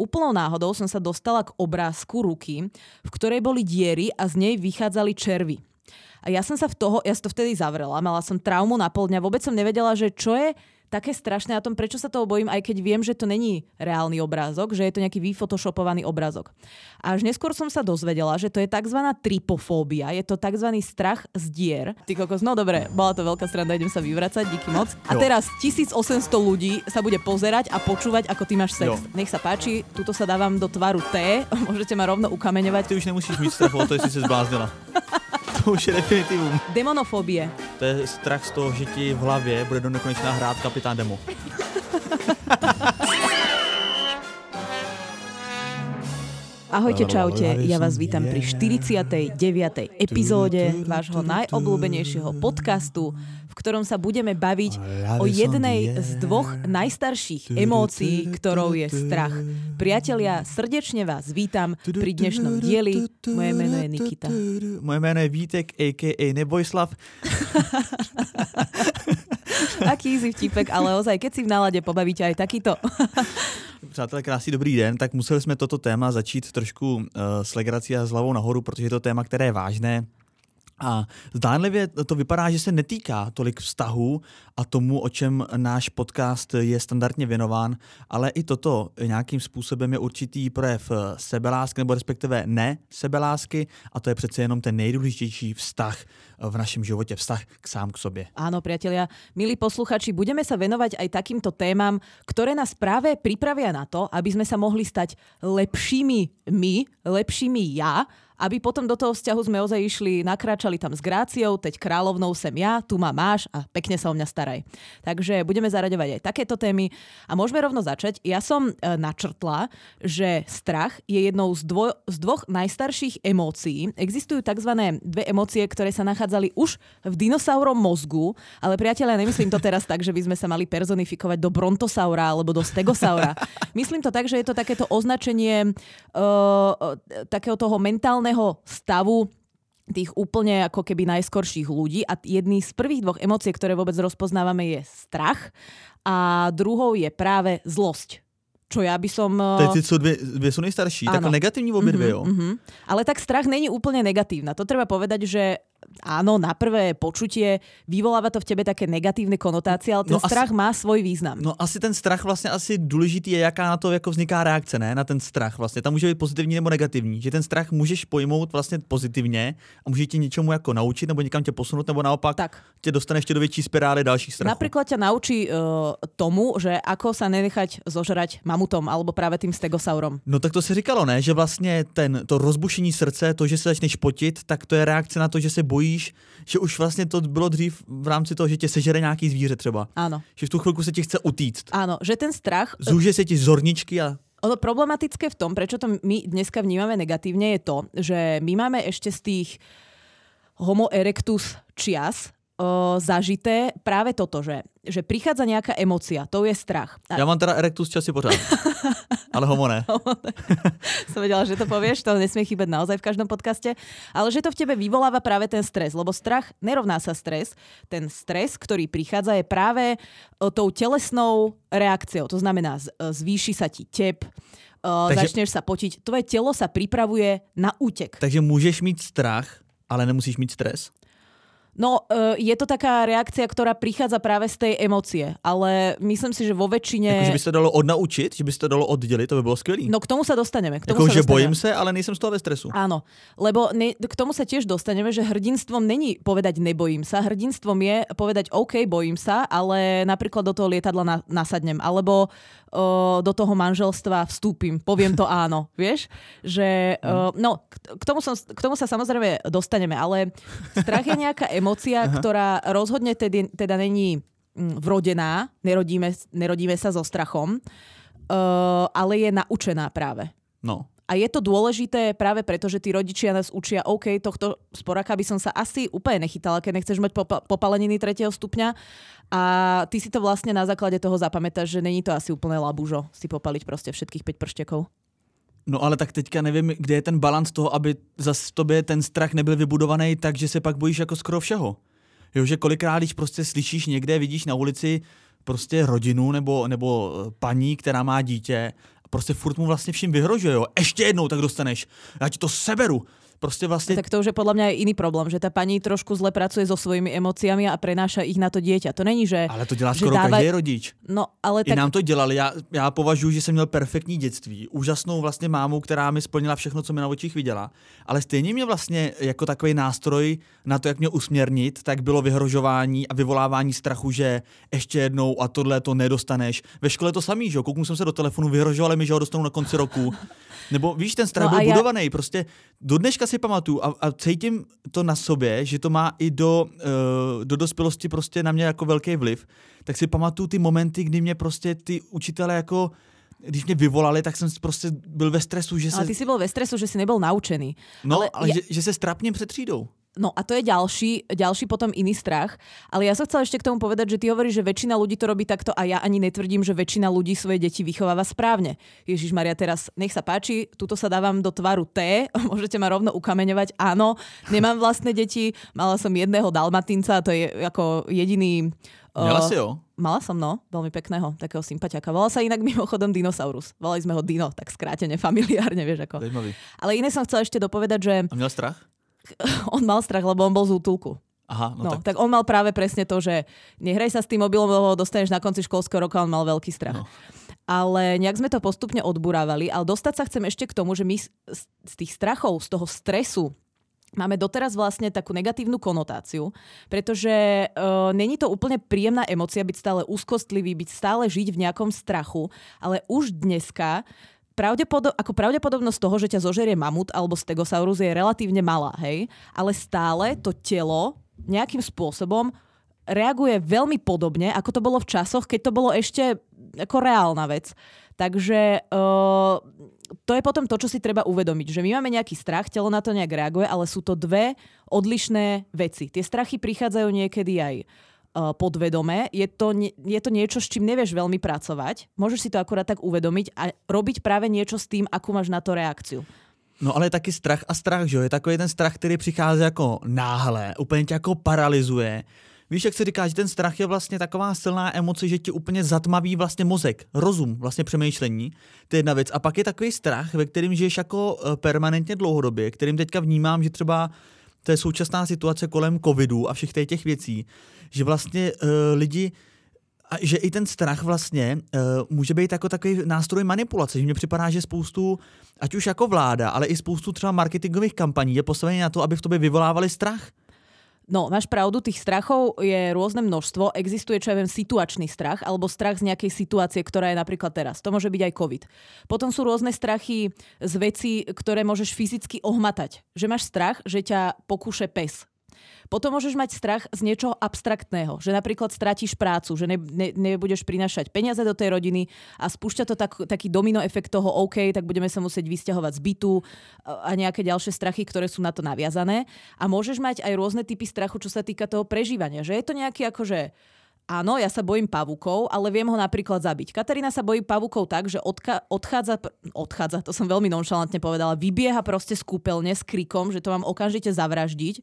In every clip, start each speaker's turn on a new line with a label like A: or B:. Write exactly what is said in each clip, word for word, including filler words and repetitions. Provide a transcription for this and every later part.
A: úplnou náhodou som sa dostala k obrázku ruky, v ktorej boli diery a z nej vychádzali červy. A ja som sa v toho, ja som to vtedy zavrela, mala som traumu na pol dňa, vôbec som nevedela, že čo je také strašné na tom, prečo sa toho bojím, aj keď viem, že to není reálny obrázok, že je to nejaký vyfotoshopovaný obrázok. A až neskôr som sa dozvedela, že to je tzv. Tripofóbia, je to tzv. Strach z dier. Ty kokos, no dobre, bola to veľká sranda, idem sa vyvracať, díky moc. A teraz tisícosemsto ľudí sa bude pozerať a počúvať, ako ty máš sex. Jo. Nech sa páči, tuto sa dávam do tvaru T, môžete ma rovno ukameňovať.
B: Ty už nemusíš mít strach o to, jestli sa zbláznila. To už je definitivum.
A: Demonofobie.
B: To je strach z toho, že ti v hlavě bude do nekonečna hrát kapitán Demo.
A: Ahojte, čaute, ja vás vítam pri štyridsiatej deviatej epizóde vášho najobľúbenejšieho podcastu, v ktorom sa budeme baviť o jednej z dvoch najstarších emócií, ktorou je strach. Priatelia, srdečne vás vítam pri dnešnom dieli. Moje meno je Nikita.
B: Moje meno je Vítek, a ká a Nebojslav.
A: Aký easy vtipek, ale ozaj, keď si v nálade pobavíte aj takýto.
B: Přátelé, krásný dobrý den, tak museli jsme toto téma začít trošku uh, s legrací a s hlavou nahoru, protože je to téma, které je vážné. A zdánlivě to vypadá, že se netýká tolik vztahů a tomu, o čem náš podcast je standardně věnován, ale i toto nějakým způsobem je určitý projev sebelásky, nebo respektive ne sebelásky, a to je přece jenom ten nejdůležitější vztah v našem životě, vztah k sám k sobě.
A: Áno, priatelia, milí posluchači, budeme sa venovať aj takýmto témam, ktoré nás práve pripravia na to, aby sme sa mohli stať lepšími my, lepšími ja, aby potom do toho vzťahu sme ozaj išli, nakráčali tam s Gráciou, teď kráľovnou sem ja, tu ma máš a pekne sa o mňa staraj. Takže budeme zaraďovať aj takéto témy a môžeme rovno začať. Ja som e, načrtla, že strach je jednou z, dvo- z dvoch najstarších emócií. Existujú tzv. Dve emócie, ktoré sa nachádzali už v dinosaurom mozgu, ale priatelia, nemyslím to teraz tak, že by sme sa mali personifikovať do brontosaura alebo do stegosaura. Myslím to tak, že je to takéto označenie e, takého toho mentálneho stavu tých úplne ako keby najskorších ľudí a jedný z prvých dvoch emócií, ktoré vôbec rozpoznávame, je strach a druhou je práve zlosť. Čo ja by som...
B: Teď sú dve, dve sú nejstarší, tak negatívni obě dve, jo?
A: Mm-hmm. Ale tak strach není úplne negatívna. To treba povedať, že áno, na prvé počutie vyvoláva to v tebe také negatívne konotácie, ale ten no strach asi, má svoj význam.
B: No asi ten strach vlastně asi důležitý je, jaká na to jako vzniká reakce, ne? Na ten strach vlastně. Tam může být pozitivní nebo negativní. Že ten strach můžeš pojmout vlastně pozitivně a může tě něčemu jako naučit nebo někam tě posunout, nebo naopak tak. Tě dostane ještě do větší spirály dalších strachů.
A: Napríklad ťa naučí uh, tomu, že ako sa nenechať zožrať mamutom alebo práve tým stegosaurom.
B: No tak to se říkalo, ne? Že vlastně ten, to rozbušení srdce, to, že se začneš potit, tak to je reakce na to, že se bojíš, že už vlastně to bylo dřív v rámci toho, že tě sežere nějaký zvíře třeba.
A: Áno.
B: Že v tu chvilku se ti chce utíct.
A: Áno, že ten strach...
B: Zúže se ti zorničky a...
A: Ono problematické v tom, prečo to my dneska vnímame negatívne, je to, že my máme ešte z tých homo erectus čias o, zažité práve toto, že, že prichádza nejaká emócia, to je strach.
B: A... Ja mám teda erectus časy pořád, ale homo ne.
A: Som vedela, že to povieš, to nesmie chýbať naozaj v každom podcaste, ale že to v tebe vyvoláva práve ten stres, lebo strach nerovná sa stres. Ten stres, ktorý prichádza, je práve tou telesnou reakciou, to znamená zvýši sa ti tep, takže... začneš sa potiť, tvoje telo sa pripravuje na útek.
B: Takže môžeš mít strach, ale nemusíš mít stres?
A: No, je to taká reakcia, ktorá prichádza práve z tej emócie, ale myslím si, že vo väčšine...
B: Jako, že by se to dalo odnaučiť, že by se to dalo oddělit, to by bylo skvělý.
A: No k tomu sa dostaneme. K tomu
B: jako,
A: sa
B: že
A: dostaneme.
B: bojím se, ale nejsem z toho ve stresu.
A: Áno, lebo ne, k tomu sa tiež dostaneme, že hrdinstvom není povedať nebojím sa, hrdinstvom je povedať OK, bojím sa, ale napríklad do toho lietadla na, nasadnem, alebo o, do toho manželstva vstúpim, poviem to áno, vieš? Že, o, no, k tomu, som, k tomu sa samozrejme dostaneme, ale strach je nejaká emócia, ktorá rozhodne tedy, teda není vrodená, nerodíme, nerodíme sa so strachom, uh, ale je naučená práve.
B: No.
A: A je to dôležité práve preto, že tí rodičia nás učia, OK, tohto sporaka by som sa asi úplne nechytala, keď nechceš mať popa- popaleniny tretieho stupňa a ty si to vlastne na základe toho zapamätáš, že není to asi úplne labúžo si popaliť proste všetkých päť prštekov.
B: No ale tak teďka nevím, kde je ten balans toho, aby zas v tobě ten strach nebyl vybudovaný tak, že se pak bojíš jako skoro všeho. Jo, že kolikrát, když prostě slyšíš někde, vidíš na ulici prostě rodinu nebo, nebo paní, která má dítě, prostě furt mu vlastně vším vyhrožuje, jo. Ještě jednou tak dostaneš, já ti to seberu. Prostě vlastne...
A: Tak to už je podľa mňa aj iný problém, že tá pani trošku zle pracuje so svojimi emóciami a prenáša ich na to dieťa. To není, že...
B: Ale to dělá skoro dáva... každý rodič.
A: No, ale
B: I
A: tak...
B: nám to dělali. Já, já považuji, že jsem měl perfektní dětství. Úžasnou vlastně mámu, která mi splnila všechno, co mi na očích viděla. Ale stejně mě vlastně jako takový nástroj na to, jak mě usměrnit, tak bylo vyhrožování a vyvolávání strachu, že ještě jednou a tohle to nedostaneš. Ve škole to samý, že jo? Kouknu jsem se do telefonu, vyhrožovali mi, že ho dostanu na konci roku. Nebo víš, ten strach no byl já... budovaný. Prostě do dneška si pamatuju a, a cítím to na sobě, že to má i do, uh, do dospělosti prostě na mě jako velký vliv. Tak si pamatuju ty momenty, kdy mě prostě ty učitelé jako když mě vyvolali, tak jsem prostě byl ve stresu, že se...
A: Ale ty si byl ve stresu, že si nebyl naučený.
B: No, ale, ale
A: ja...
B: že, že se strapním před třídou.
A: No a to je ďalší, ďalší potom iný strach. Ale ja sa chcela ešte k tomu povedať, že ty hovoríš, že väčšina ľudí to robí takto a ja ani netvrdím, že väčšina ľudí svoje deti vychováva správne. Ježišmaria, teraz nech sa páči, tuto sa dávam do tvaru T, môžete ma rovno ukameňovať. Áno, nemám vlastné deti, mala som jedného dalmatinca, to je ako jediný...
B: Mala uh, si ho?
A: Mala som, no, veľmi pekného, takého sympatiaka. Volal sa inak mimochodom Dinosaurus. Volali sme ho Dino, tak skrátene, familiárne, vieš ako.
B: Zajímavý.
A: Ale iné som chcela ešte dopovedať, že...
B: A měl strach?
A: On mal strach, lebo on bol z útulku.
B: Aha, no,
A: no
B: tak...
A: tak on mal práve presne to, že nehraj sa s tým mobilom, lebo ho dostaneš na konci školského roka, on mal veľký strach. No. Ale nejak sme to postupne odburávali, ale dostať sa chcem ešte k tomu, že my z, z tých strachov, z toho stresu máme doteraz vlastne takú negatívnu konotáciu, pretože uh, není to úplne príjemná emócia byť stále úzkostlivý, byť stále žiť v nejakom strachu, ale už dneska Pravdepodob- ako pravdepodobnosť toho, že ťa zožerie mamut alebo stegosaurus je relatívne malá, hej? Ale stále to telo nejakým spôsobom reaguje veľmi podobne, ako to bolo v časoch, keď to bolo ešte ako reálna vec. Takže uh, to je potom to, čo si treba uvedomiť, že my máme nejaký strach, telo na to nejak reaguje, ale sú to dve odlišné veci. Tie strachy prichádzajú niekedy aj podvedome. Je to, je to niečo, s čím nevieš veľmi pracovať. Môžeš si to akurát tak uvedomiť a robiť práve niečo s tým, akú máš na to reakciu.
B: No ale je taky strach a strach, že jo? Je takový ten strach, který přichází jako náhle, úplně tě jako paralyzuje. Víš, jak se říká, že ten strach je vlastně taková silná emoce, že ti úplně zatmaví vlastně mozek, rozum, vlastně přemýšlení. To je jedna věc. A pak je takový strach, ve kterým žiješ jako permanentně dlouhodobě, kterým teďka vnímám, že třeba to je současná situace kolem covidu a všech těch věcí, že vlastně uh, lidi, a že i ten strach vlastně uh, může být jako takový nástroj manipulace, že mně připadá, že spoustu, ať už jako vláda, ale i spoustu třeba marketingových kampaní je postavený na to, aby v tobě vyvolávali strach.
A: No, máš pravdu, tých strachov je rôzne množstvo. Existuje, čo ja viem, situačný strach alebo strach z nejakej situácie, ktorá je napríklad teraz. To môže byť aj COVID. Potom sú rôzne strachy z vecí, ktoré môžeš fyzicky ohmatať. Že máš strach, že ťa pokúše pes. Potom môžeš mať strach z niečoho abstraktného, že napríklad stratíš prácu, že ne, ne, nebudeš prinášať peniaze do tej rodiny a spúšťa to tak, taký domino efekt toho OK, tak budeme sa musieť vysťahovať z bytu a nejaké ďalšie strachy, ktoré sú na to naviazané. A môžeš mať aj rôzne typy strachu, čo sa týka toho prežívania. Že je to nejaký akože áno, ja sa bojím pavúkov, ale viem ho napríklad zabiť. Katarína sa bojí pavúkov tak, že odka- odchádza, odchádza, to som veľmi nonšalantne povedala, vybieha proste z kúpeľne s krikom, že to mám okamžite zavraždiť.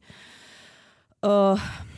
A: Uh,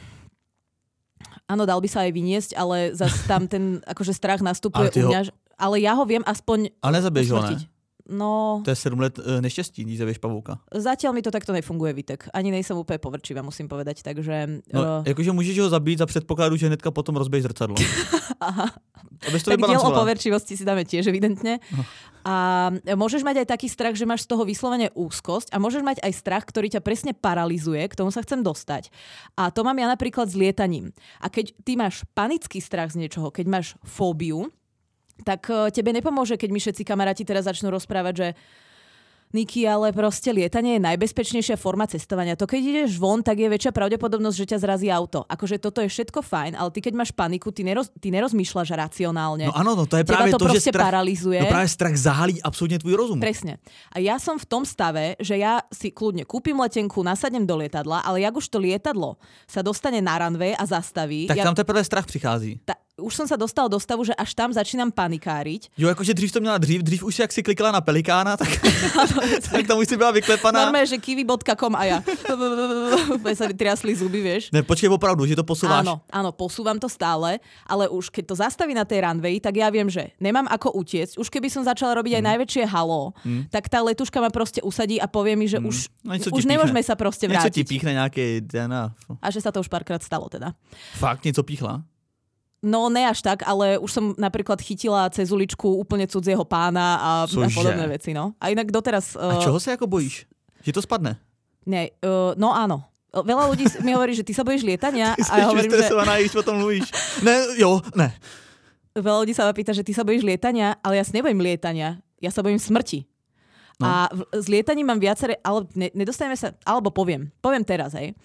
A: áno, dal by sa aj vyniesť, ale zase tam ten akože strach nastupuje u mňa. Ho... Ale ja ho viem aspoň
B: ale nezabiješ ho, ne?
A: No...
B: To je sedm let uh, nešťastí, když zabiješ pavouka.
A: Zatiaľ mi to takto nefunguje, Vitek. Ani nejsem úplne povrčivá, musím povedať, takže...
B: No, uh... jakože můžeš ho zabít za předpokladu, že hnedka potom rozbiješ zrcadlo.
A: Aha.
B: Tak
A: diel o poverčivosti si dáme tiež evidentne. No. A môžeš mať aj taký strach, že máš z toho vyslovene úzkosť a môžeš mať aj strach, ktorý ťa presne paralizuje, k tomu sa chcem dostať. A to mám ja napríklad s lietaním. A keď ty máš panický strach z niečoho, keď máš fóbiu, tak tebe nepomôže, keď mi všetci kamaráti teraz začnú rozprávať, že Niky, ale proste lietanie je najbezpečnejšia forma cestovania. To keď ideš von, tak je väčšia pravdepodobnosť, že ťa zrazí auto. Akože toto je všetko fajn, ale ty keď máš paniku, ty, neroz, ty nerozmýšľaš racionálne.
B: No áno, no to je práve
A: to,
B: to, že strach,
A: paralizuje.
B: No práve strach zahalí absolútne tvoj rozum.
A: Presne. A ja som v tom stave, že ja si kľudne kúpim letenku, nasadnem do lietadla, ale jak už to lietadlo sa dostane na runway a zastaví...
B: Tak
A: ja,
B: tam teprve strach přichází.
A: Ta, už som sa dostal do stavu, že až tam začínam panikáriť.
B: Jo, jakože dřív to měla dřív, dřív už jak si klikla na Pelikána, tak, tak tam už si byla vyklepaná.
A: Normálne, že kiwi bodka com a ja. Úplne sa mi triasli zuby, vieš.
B: Ne, počkej, opravdu, že to posúváš.
A: Áno, áno, posúvam to stále, ale už keď to zastaví na tej runway, tak ja viem, že nemám ako utiecť. Už keby som začala robiť aj mm. najväčšie halo, mm. tak tá letuška ma proste usadí a povie mi, že mm. už, no, už nemôžeme sa proste vrátiť.
B: Niečo ti píchne nejaké dé en á.
A: A že sa to už párkrát stalo teda.
B: Fakt, niečo píchla?
A: No ne až tak, ale už som napríklad chytila cez uličku úplne cudzieho pána a, a podobné veci, no. A inak doteraz... Uh...
B: A čoho sa ako bojíš? Že to spadne?
A: Ne, uh, no áno. Veľa ľudí mi hovorí, že ty sa bojíš lietania.
B: Ty
A: a ja hovorím,
B: vystresovaná, že... potom mluvíš. Ne, jo, ne.
A: Veľa ľudí sa ma pýta, že ty sa bojíš lietania, ale ja sa nebojím lietania. Ja sa bojím smrti. No. A v, s lietaním mám viaceré... Ale ne, nedostaneme sa... Alebo poviem. Poviem teraz, hej.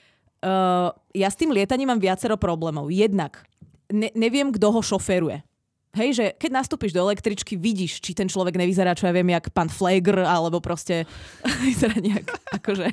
A: Uh, ja s tým lietaním mám viacero problémov. Jednak Ne, neviem, kto ho šoféruje. Hej, že keď nastúpiš do električky, vidíš, či ten človek nevyzerá, čo ja viem, jak pán Flegr, alebo proste vyzerá nejak, akože...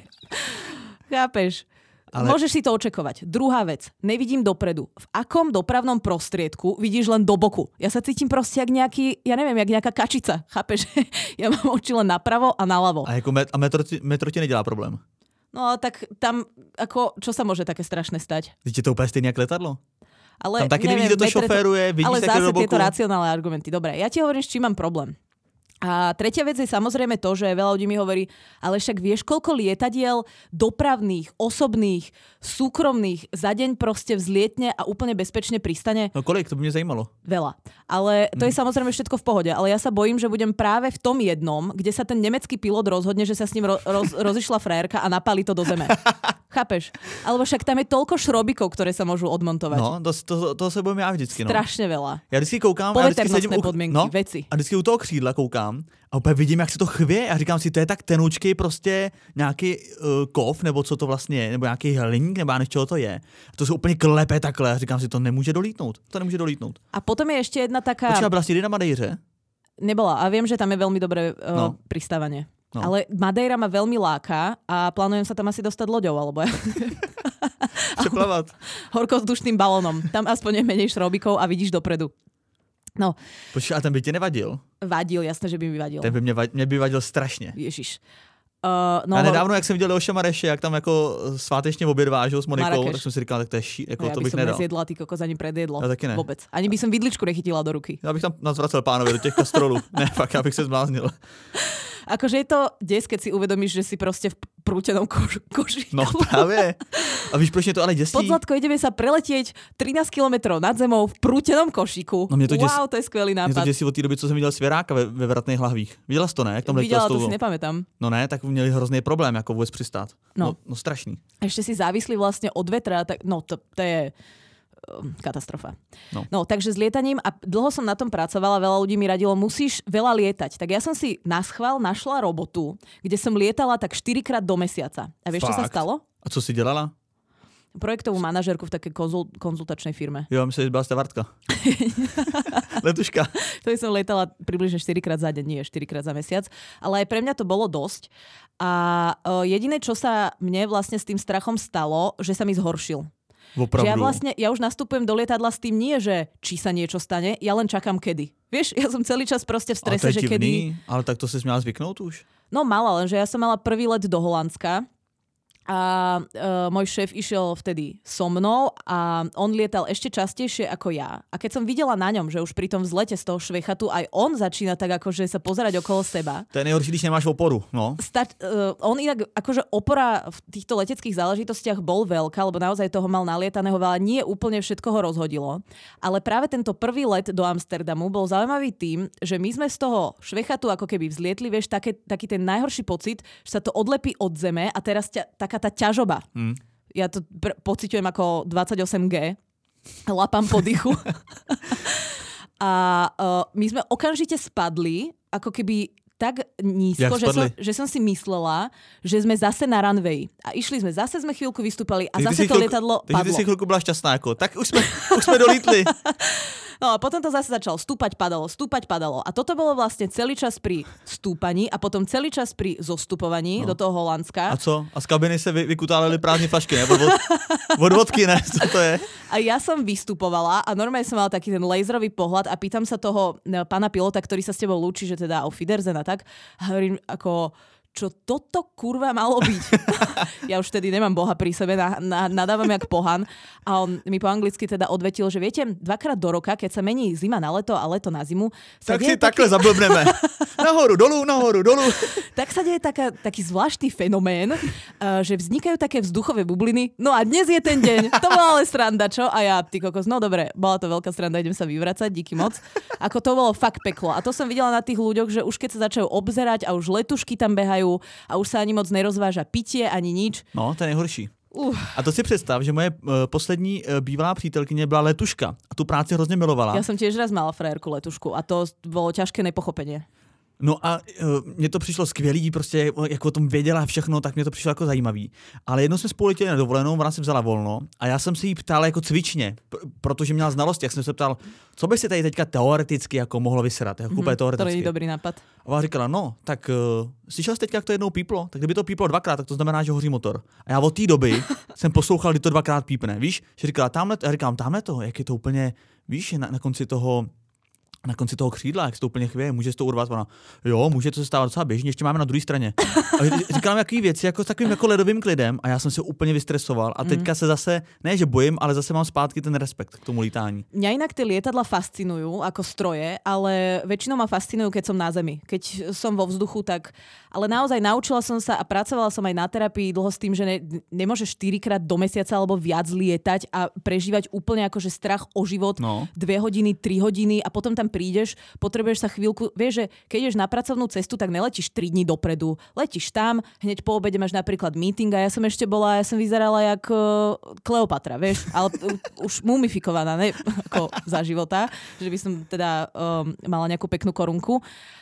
A: Chápeš? Ale... Môžeš si to očakovať. Druhá vec, nevidím dopredu. V akom dopravnom prostriedku vidíš len do boku? Ja sa cítim proste jak nejaký, ja neviem, jak nejaká kačica. Chápeš? Ja mám oči len napravo a naľavo.
B: A, jako met- a metro, ti, metro ti nedělá problém?
A: No tak tam, ako, čo sa môže také strašné stať?
B: Je to úplne stejné jak letadlo?
A: Ale
B: tam taky
A: neviem,
B: nevidíš, kto to šoféruje, vidíš
A: ale
B: také do boku. Ale zase
A: tieto racionálne argumenty. Dobre, ja ti hovorím, s čím mám problém. A tretia vec je samozrejme to, že veľa ľudí mi hovorí, ale však vieš, koľko lietadiel dopravných, osobných, súkromných za deň proste vzlietne a úplne bezpečne pristane?
B: No kolik? To by mňa zajímalo.
A: Veľa. Ale to je samozrejme všetko v pohode. Ale ja sa bojím, že budem práve v tom jednom, kde sa ten nemecký pilot rozhodne, že sa s ním ro- roz- rozišla frajerka a napálí to do zeme. Chápeš? Alebo však tam je toľko šrobikov, ktoré sa môžu odmontovať.
B: No, to, to, to sa bojím ja vždycky. No.
A: Strašne veľa.
B: Ja vždycky koukám,
A: poveternostné podmienky,
B: no,
A: veci.
B: A vždycky u toho křídla koukám a úplně vidím, jak se to chvě a říkám si, to je tak tenoučkej prostě nějaký uh, kov, nebo co to vlastně je, nebo nějaký hliník, nebo já než čeho to je. A to se úplně klepe takhle a říkám si, to nemůže dolítnout. To nemůže dolítnout.
A: A potom je ještě jedna taká...
B: Počkej, byla si na Madejře?
A: Nebola a viem, že tam je veľmi dobré uh, no. pristávanie. No. Ale Madeira ma veľmi láka a plánujem sa tam asi dostať loďou, alebo ja...
B: Přeplavať.
A: Horkozdušným balónom. Tam aspoň je menej šrobikov a vidíš dopredu. No.
B: Počkej, a ten by ti nevadil?
A: Vadil, jasné, že by mi vadil.
B: Ten by mě, vadil, mě by vadil strašně.
A: Ježiš. Uh, no,
B: a nedávno, jak jsem viděl Leoša Mareše, jak tam jako svátečně oběd vážil s Monikou, Marrakeš. Tak jsem si říkal, tak to je ší, jako
A: no,
B: to bych nedal.
A: Ja by som nezjedla, ty kokos, ani predjedlo.
B: Ja taky ne.
A: Vôbec. Ani by som vidličku nechytila do ruky.
B: Já bych tam nazvracel pánovi do těch kastrolů. Ne, fakt, já bych se zbláznil.
A: Akože je to des, keď si uvedomíš, že si proste v prútenom kož- koši.
B: No právě. A víš, proč mě to ale děsí?
A: Podzlatko, ideme sa preletieť trinásť kilometrov nad zemou v prútenom košiku.
B: No to
A: wow, to je skvelý nápad.
B: Mě to děsí od té doby, co jsem viděl Svěráka ve, ve Vratných lahvích. Viděla jsi to, ne? Jak tam
A: Videla, to si nepamätám.
B: No ne, tak měli hrozný problém, jako vůbec přistát.
A: No.
B: No, no strašný.
A: Ešte si závislí vlastne od vetra, tak no to, to je katastrofa.
B: No.
A: no, takže s lietaním a dlho som na tom pracovala, veľa ľudí mi radilo, musíš veľa lietať. Tak ja som si naschvál našla robotu, kde som lietala tak štyrikrát do mesiaca. A vieš,
B: Fakt?
A: čo sa stalo?
B: A co si dělala?
A: Projektovú manažérku v takej konzul- konzultačnej firme.
B: Jo, myslím, že byla stavartka. Letuška.
A: To som lietala približne štyrikrát za deň, nie štyrikrát za mesiac. Ale aj pre mňa to bolo dosť. A uh, jediné, čo sa mne vlastne s tým strachom stalo, že sa mi zhoršil.
B: Opravdu.
A: Že ja vlastne, ja už nastupujem do lietadla s tým nie, že či sa niečo stane, ja len čakám kedy. Vieš, ja som celý čas proste v strese,
B: ale
A: že
B: divný,
A: kedy...
B: Ale tak to si smiala zvyknúť už?
A: No mala, lenže ja som mala prvý let do Holandska a uh, môj šéf išiel vtedy so mnou a on lietal ešte častejšie ako ja. A keď som videla na ňom, že už pri tom vzlete z toho švechatu aj on začína tak akože sa pozerať okolo seba.
B: To je nejhorší, když nemáš oporu, no.
A: Sta- uh, on inak akože opora v týchto leteckých záležitostiach bol veľká, lebo naozaj toho mal nalietaného veľa. Nie úplne všetko ho rozhodilo. Ale práve tento prvý let do Amsterdamu bol zaujímavý tým, že my sme z toho švechatu ako keby vzlietli, vieš, také, taký ten najhorší pocit, že sa to odlepí od zeme a teraz ťa, taká tá ťažoba. Mm. Ja to pr- pociťujem ako dvadsaťosem gé. Lapám po dychu. A uh, my sme okamžite spadli, ako keby tak nízko, že som, že som si myslela, že sme zase na runway. A išli sme, zase sme chvíľku vystúpali a
B: takže
A: zase to
B: chvíľku,
A: lietadlo
B: takže
A: padlo.
B: ty si chvíľku bola šťastná, ako. Tak už sme, už sme dolítli.
A: No a potom to zase začalo stúpať, padalo, stúpať, padalo. A toto bolo vlastne celý čas pri stúpaní a potom celý čas pri zostupovaní no. do toho Holandska.
B: A co? A z kabiny se vy, vykutálili prázdne flašky, ne? Od, od vodky, ne? Co to je?
A: A ja som vystupovala a normálne som mala taký ten laserový pohľad a pýtam sa toho pána pilota, ktorý sa s tebou lúči, že teda auf Wiedersehen a tak. A hovorím ako... čo toto kurva malo byť. Ja už vtedy nemám Boha pri sebe, na, na, nadávam jak pohan. A on mi po anglicky teda odvetil, že viete, dvakrát do roka, keď sa mení zima na leto a leto na zimu...
B: Tak si takhle taký... zablbneme. Nahoru, dolu, nahoru, dolu.
A: Tak sa deje taká, taký zvláštny fenomén, uh, že vznikajú také vzduchové bubliny. No a dnes je ten deň. To bola ale sranda, čo? A ja, ty kokos, no dobre, bola to veľká sranda, idem sa vyvracať, díky moc. Ako to bolo fakt peklo. A to som videla na tých ľuďoch, že už keď sa začajú obzerať a už letušky tam behajú a už sa ani moc nerozváža pitie, ani nič.
B: No, to je nejhorší. Uh. A to si představ, že moje uh, poslední uh, bývalá přítelkyně byla letuška a tu práci hrozně milovala.
A: Ja som tiež raz mala frajerku letušku a to bolo ťažké nepochopenie.
B: No a uh, mně to přišlo skvělý, prostě jak o tom věděla všechno, tak mě to přišlo jako zajímavý. Ale jednou jsme spolu letěli na dovolenou, ona si vzala volno a já jsem si jí ptal jako cvičně, pr- protože měla znalosti, jak jsem se ptal, co by si tady teďka teoreticky jako mohlo vysedat, jako mm-hmm, teoreticky.
A: To není dobrý nápad.
B: A ona říkala, no, tak uh, slyšel jsi teďka, jak to jednou píplo? Tak kdyby to píplo dvakrát, tak to znamená, že hoří motor. A já od té doby jsem poslouchal, kdy to dvakrát pípne, víš? Že říkala, tamhle, já říkám, tamhle to, jak je to úplně, víš, na, na konci toho na konci toho křídla, jak se to úplně chvěje, může se to urvat, ona, jo, může to se stávat docela běžně, ještě máme na druhé straně. A říkám, jaký věci, jako s takovým jako ledovým klidem a já jsem se úplně vystresoval a teďka se zase, ne že bojím, ale zase mám zpátky ten respekt k tomu lítání.
A: Mňa inak tie lietadla fascinujú ako stroje, ale väčšinou ma fascinujú, keď som na zemi. Keď som vo vzduchu, tak... Ale naozaj naučila som sa a pracovala som aj na terapii dlho s tým, že ne, nemôžeš štyrikrát do mesiaca alebo viac lietať a prežívať úplne akože strach o život no. dve hodiny, tri hodiny a potom tam prídeš, potrebuješ sa chvíľku, vieš, že keď ideš na pracovnú cestu, tak neletíš tri dní dopredu. Letíš tam, hneď po obede máš napríklad meeting a ja som ešte bola, ja som vyzerala jak uh, Kleopatra, vieš, ale uh, už mumifikovaná, ne, ako za života, že by som teda um, mala nejakú peknú korunku.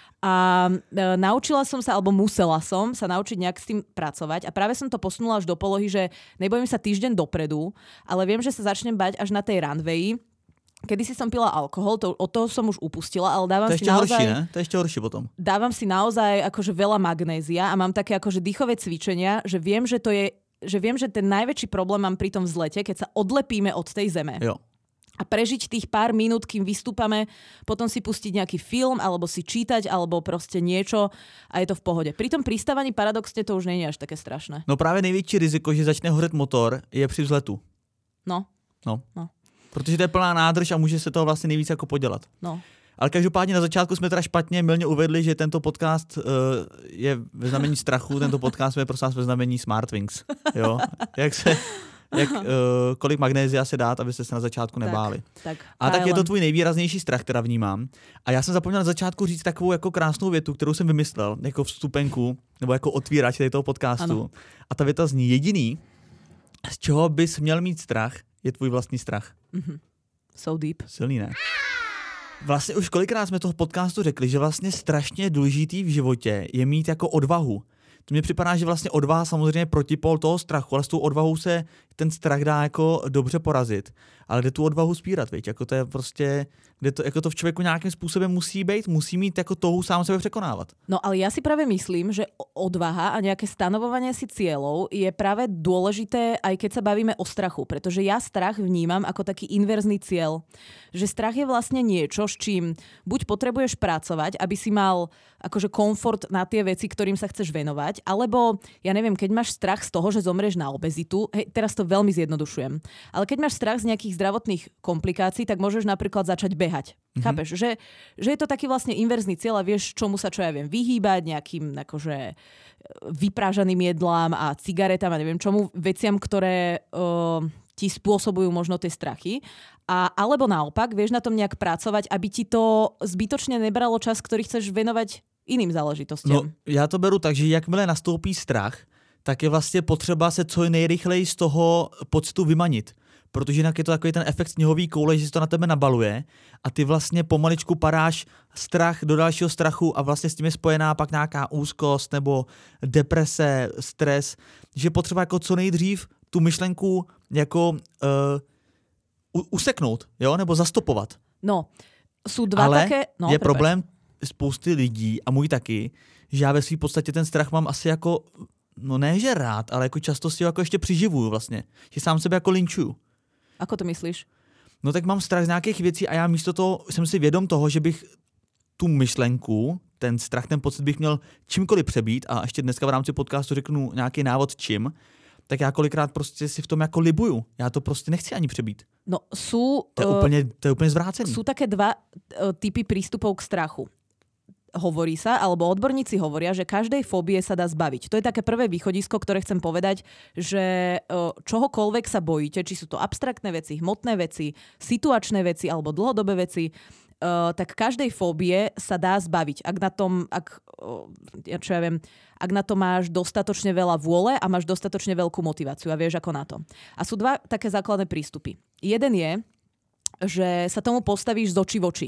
A: A e, naučila som sa, alebo musela som sa naučiť nejak s tým pracovať a práve som to posunula až do polohy, že nebojím sa týždeň dopredu, ale viem, že sa začnem bať až na tej runwayi. Kedy si som pila alkohol, to, od toho som už upustila, ale dávam
B: to
A: si naozaj...
B: Horší, ne? To je ešte horšie potom.
A: Dávam si naozaj akože veľa magnézia a mám také akože dýchové cvičenia, že viem, že to je, že viem, že ten najväčší problém mám pri tom vzlete, keď sa odlepíme od tej zeme.
B: Jo.
A: A prežiť tých pár minút, kým vystúpame, potom si pustiť nejaký film, alebo si čítať, alebo proste niečo a je to v pohode. Pri tom pristávaní paradoxne to už nie je až také strašné.
B: No právě největší riziko, že začne hořet motor, je při vzletu.
A: No.
B: No.
A: no.
B: Protože to je plná nádrž a může se toho vlastně nejvíc jako podělat.
A: No.
B: Ale každopádně na začátku jsme teda špatně mylně uvedli, že tento podcast uh, je ve znamení strachu, tento podcast je prosím vás ve znamení Smartwings. Jo? Jak se... Jak, uh, kolik magnézia se dát, abyste se na začátku nebáli.
A: Tak, tak,
B: a tak je to tvůj nejvýraznější strach, teda vnímám. A já jsem zapomněl na začátku říct takovou jako krásnou větu, kterou jsem vymyslel, jako vstupenku, nebo jako otvírač tady toho podcastu. Ano. A ta věta zní, jediný, z čeho bys měl mít strach, je tvůj vlastní strach.
A: Mm-hmm. So deep.
B: Silný, ne? Vlastně už kolikrát jsme toho podcastu řekli, že vlastně strašně důležitý v životě je mít jako odvahu. To mně připadá, že vlastně odvaha samozřejmě protipol toho strachu, ale s tou odvahou se ten strach dá jako dobře porazit. Ale jde tu odvahu spírat, viď? Jako to je prostě, kde to, jako to v člověku nějakým způsobem musí být, musí mít jako touhu sám sebe překonávat.
A: No ale ja si práve myslím, že odvaha a nejaké stanovovanie si cieľov je práve dôležité, aj keď sa bavíme o strachu, pretože ja strach vnímam ako taký inverzný cieľ. Že strach je vlastne niečo, s čím buď potrebuješ pracovať, aby si mal akože komfort na tie veci, ktorým sa chceš venovať, alebo ja neviem, keď máš strach z toho, že zomrieš na obezitu, hej, teraz to veľmi zjednodušujem, ale keď máš strach z nejakých zdravotných komplikácií, tak môžeš napríklad začať behať. Mm-hmm. Chápeš? Že, že je to taký vlastne inverzný cieľ a vieš, čomu sa, čo ja viem, vyhýbať, nejakým akože vyprážaným jedlám a cigaretám a neviem čomu, veciam, ktoré uh, ti spôsobujú možno tie strachy. A, alebo naopak, vieš na tom nejak pracovať, aby ti to zbytočne nebralo čas, ktorý chceš venovať iným záležitostiam.
B: No, já to beru tak, že jakmile nastoupí strach, tak je vlastně potřeba se co nejrychleji z toho pocitu vymanit. Protože jinak je to takový ten efekt sněhový koule, že se to na tebe nabaluje a ty vlastně pomaličku padáš strach do dalšího strachu a vlastně s tím je spojená pak nějaká úzkost nebo deprese, stres, že je potřeba jako co nejdřív tu myšlenku jako uh, useknout, jo, nebo zastopovat.
A: No, sú dva
B: ale
A: také... No,
B: je
A: prepáč.
B: problém spousty lidí a můj taky, že já ve svým podstatě ten strach mám asi jako, no ne že rád, ale jako často si ho jako ještě přiživuju vlastně. Že sám sebe jako linčuju.
A: Ako to myslíš?
B: No tak mám strach z nějakých věcí a já místo toho jsem si vědom toho, že bych tu myšlenku, ten strach, ten pocit bych měl čímkoliv přebít a ještě dneska v rámci podcastu řeknu nějaký návod čím, tak já kolikrát prostě si v tom jako libuju. Já to prostě nechci ani přebít.
A: No sú...
B: To je, uh, úplně, to je úplně zvrácený.
A: Sú také dva uh, typy prístupov k strachu. Hovorí sa, alebo odborníci hovoria, že každej fóbie sa dá zbaviť. To je také prvé východisko, ktoré chcem povedať, že čohokoľvek sa bojíte, či sú to abstraktné veci, hmotné veci, situačné veci alebo dlhodobé veci, tak každej fóbie sa dá zbaviť. Ak na tom, ak, ja čo ja viem, ak na to máš dostatočne veľa vôle a máš dostatočne veľkú motiváciu a vieš ako na to. A sú dva také základné prístupy. Jeden je, že sa tomu postavíš z očí v oči.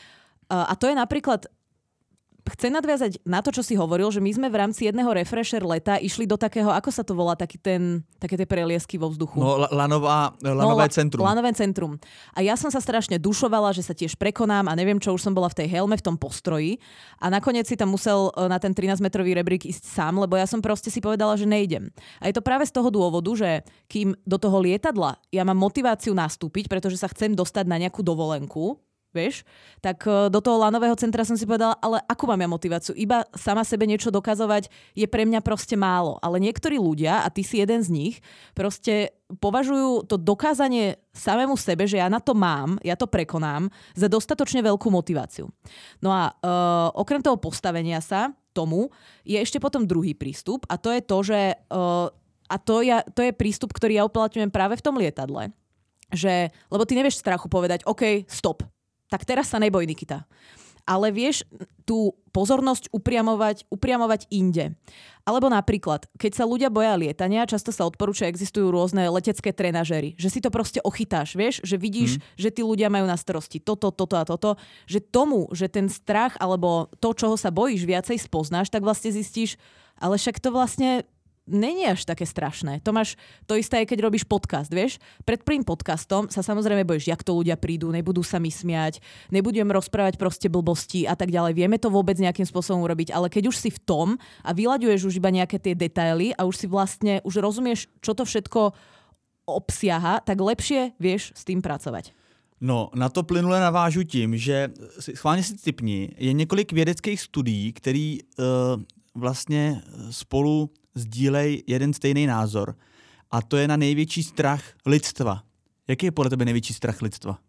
A: A to je napríklad chcem nadviazať na to, čo si hovoril, že my sme v rámci jedného refresher leta išli do takého, ako sa to volá, taký ten, také tie preliesky vo vzduchu.
B: No, lanová, lanové
A: no,
B: centrum.
A: Lanové centrum. A ja som sa strašne dušovala, že sa tiež prekonám a neviem čo, už som bola v tej helme, v tom postroji a nakoniec si tam musel na ten trinásťmetrový rebrík ísť sám, lebo ja som proste si povedala, že nejdem. A je to práve z toho dôvodu, že kým do toho lietadla ja mám motiváciu nastúpiť, pretože sa chcem dostať na nejakú dovolenku, vieš, tak do toho lanového centra som si povedala, ale akú mám ja motiváciu? Iba sama sebe niečo dokazovať je pre mňa proste málo. Ale niektorí ľudia, a ty si jeden z nich, proste považujú to dokázanie samému sebe, že ja na to mám, ja to prekonám, za dostatočne veľkú motiváciu. No a uh, okrem toho postavenia sa tomu je ešte potom druhý prístup a to je to, že uh, a to, ja, to je prístup, ktorý ja uplatňujem práve v tom lietadle. Že, lebo ty nevieš strachu povedať, OK, stop. Tak teraz sa neboj, Nikita. Ale vieš tú pozornosť upriamovať, upriamovať inde. Alebo napríklad, keď sa ľudia boja lietania, často sa odporúča, existujú rôzne letecké trenažéry. Že si to proste ochytáš, vieš? Že vidíš, hmm. že tí ľudia majú na starosti toto, toto a toto. Že tomu, že ten strach alebo to, čoho sa bojíš, viacej spoznáš, tak vlastne zistíš, ale však to vlastne není až také strašné. To máš to isté, aj keď robíš podcast, vieš? Pred prvým podcastom sa samozrejme bojíš, jak to ľudia prídu, nebudú sa mi smiať, nebudem rozprávať proste blbosti a tak ďalej. Vieme to vôbec nejakým spôsobom urobiť, ale keď už si v tom a vyľaďuješ už iba nejaké tie detaily a už si vlastne, už rozumieš, čo to všetko obsiaha, tak lepšie vieš s tým pracovať.
B: No, na to plynule navážu tím, že schválně si tipni, je několik vědeckých studií, který uh, vlastně spolu sdílej jeden stejný názor. A to je na největší strach lidstva. Jaký je podle tebe největší strach lidstva?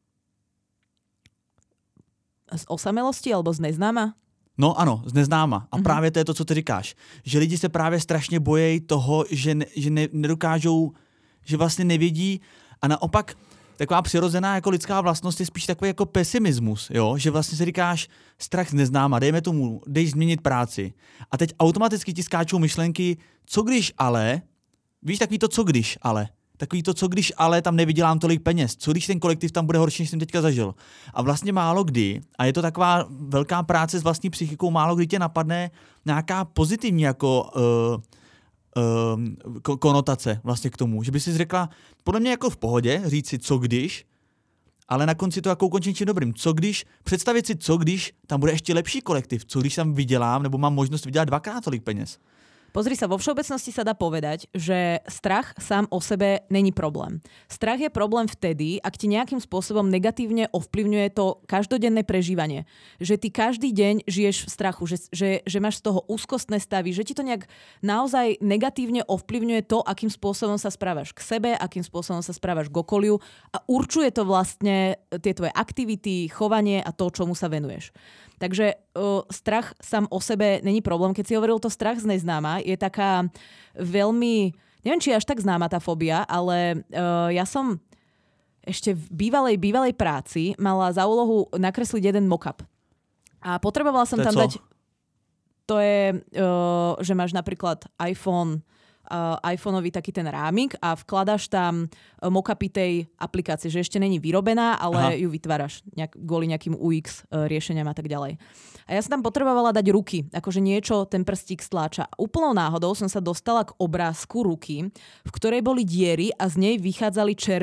A: Z osamelosti alebo z neznáma?
B: No ano, z neznáma. A mm-hmm. právě to je to, co ty říkáš. Že lidi se právě strašně bojejí toho, že, ne, že ne, nedokážou, že vlastně nevědí a naopak taková přirozená jako lidská vlastnost je spíš takový jako pesimismus, jo? Že vlastně si říkáš strach z neznáma, dejme tomu, dej změnit práci. A teď automaticky ti skáčou myšlenky, co když ale, víš, takový to co když ale, takový to co když ale tam nevydělám tolik peněz, co když ten kolektiv tam bude horší, než jsem teďka zažil. A vlastně málo kdy, a je to taková velká práce s vlastní psychikou, málo kdy tě napadne nějaká pozitivní jako uh, uh, konotace vlastně k tomu, že by si řekla, podle mě jako v pohodě říct si co když, ale na konci to jako ukončit čím dobrým. Co když, představit si co když tam bude ještě lepší kolektiv, co když tam vydělám nebo mám možnost vydělat dvakrát tolik peněz.
A: Pozri sa, vo všeobecnosti sa dá povedať, že strach sám o sebe není problém. Strach je problém vtedy, ak ti nejakým spôsobom negatívne ovplyvňuje to každodenné prežívanie. Že ty každý deň žiješ v strachu, že, že, že máš z toho úzkostné stavy, že ti to nejak naozaj negatívne ovplyvňuje to, akým spôsobom sa správaš k sebe, akým spôsobom sa správaš k okoliu a určuje to vlastne tie tvoje aktivity, chovanie a to, čomu sa venuješ. Takže uh, strach sám o sebe není problém. Keď si hovoril to strach z neznáma, je taká veľmi, neviem, či je až tak známa tá fóbia, ale uh, ja som ešte v bývalej, bývalej práci mala za úlohu nakresliť jeden mock-up. A potrebovala som tam co? dať... To je, uh, že máš napríklad iPhone, uh, iPhoneový taký ten rámik a vkladaš tam mock-upy tej aplikácie, že ešte není vyrobená, ale Aha. ju vytváraš nejak, kvôli nejakým ú iks uh, riešeniam a tak ďalej. A ja som tam potrebovala dať ruky, akože niečo ten prstík stláča. Úplnou náhodou som sa dostala k obrázku ruky, v ktorej boli diery a z nej vychádzali červy.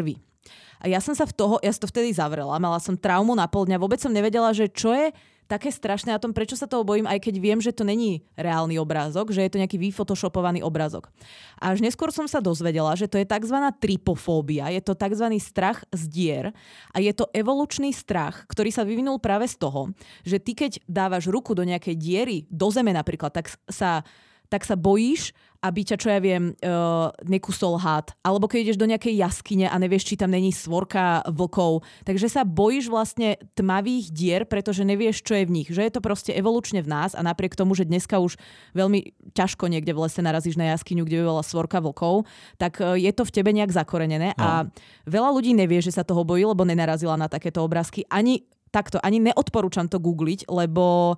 A: A ja som sa v toho, ja som to vtedy zavrela, mala som traumu na pol dňa, vôbec som nevedela, že čo je také strašné na tom, prečo sa toho bojím, aj keď viem, že to není reálny obrázok, že je to nejaký vyfotoshopovaný obrázok. A až neskôr som sa dozvedela, že to je tzv. Trypofóbia, je to tzv. Strach z dier a je to evolučný strach, ktorý sa vyvinul práve z toho, že ty keď dávaš ruku do nejakej diery, do zeme napríklad, tak sa tak sa bojíš, aby ťa, čo ja viem, uh, nekusol had. Alebo keď ideš do nejakej jaskyne a nevieš, či tam není svorka vlkov. Takže sa bojíš vlastne tmavých dier, pretože nevieš, čo je v nich. Že je to proste evolučne v nás a napriek tomu, že dneska už veľmi ťažko niekde v lese narazíš na jaskyňu, kde by bola svorka vlkov, tak uh, je to v tebe nejak zakorenené. No. A veľa ľudí nevie, že sa toho bojí, lebo nenarazila na takéto obrázky. Ani takto, ani neodporúčam to googliť, lebo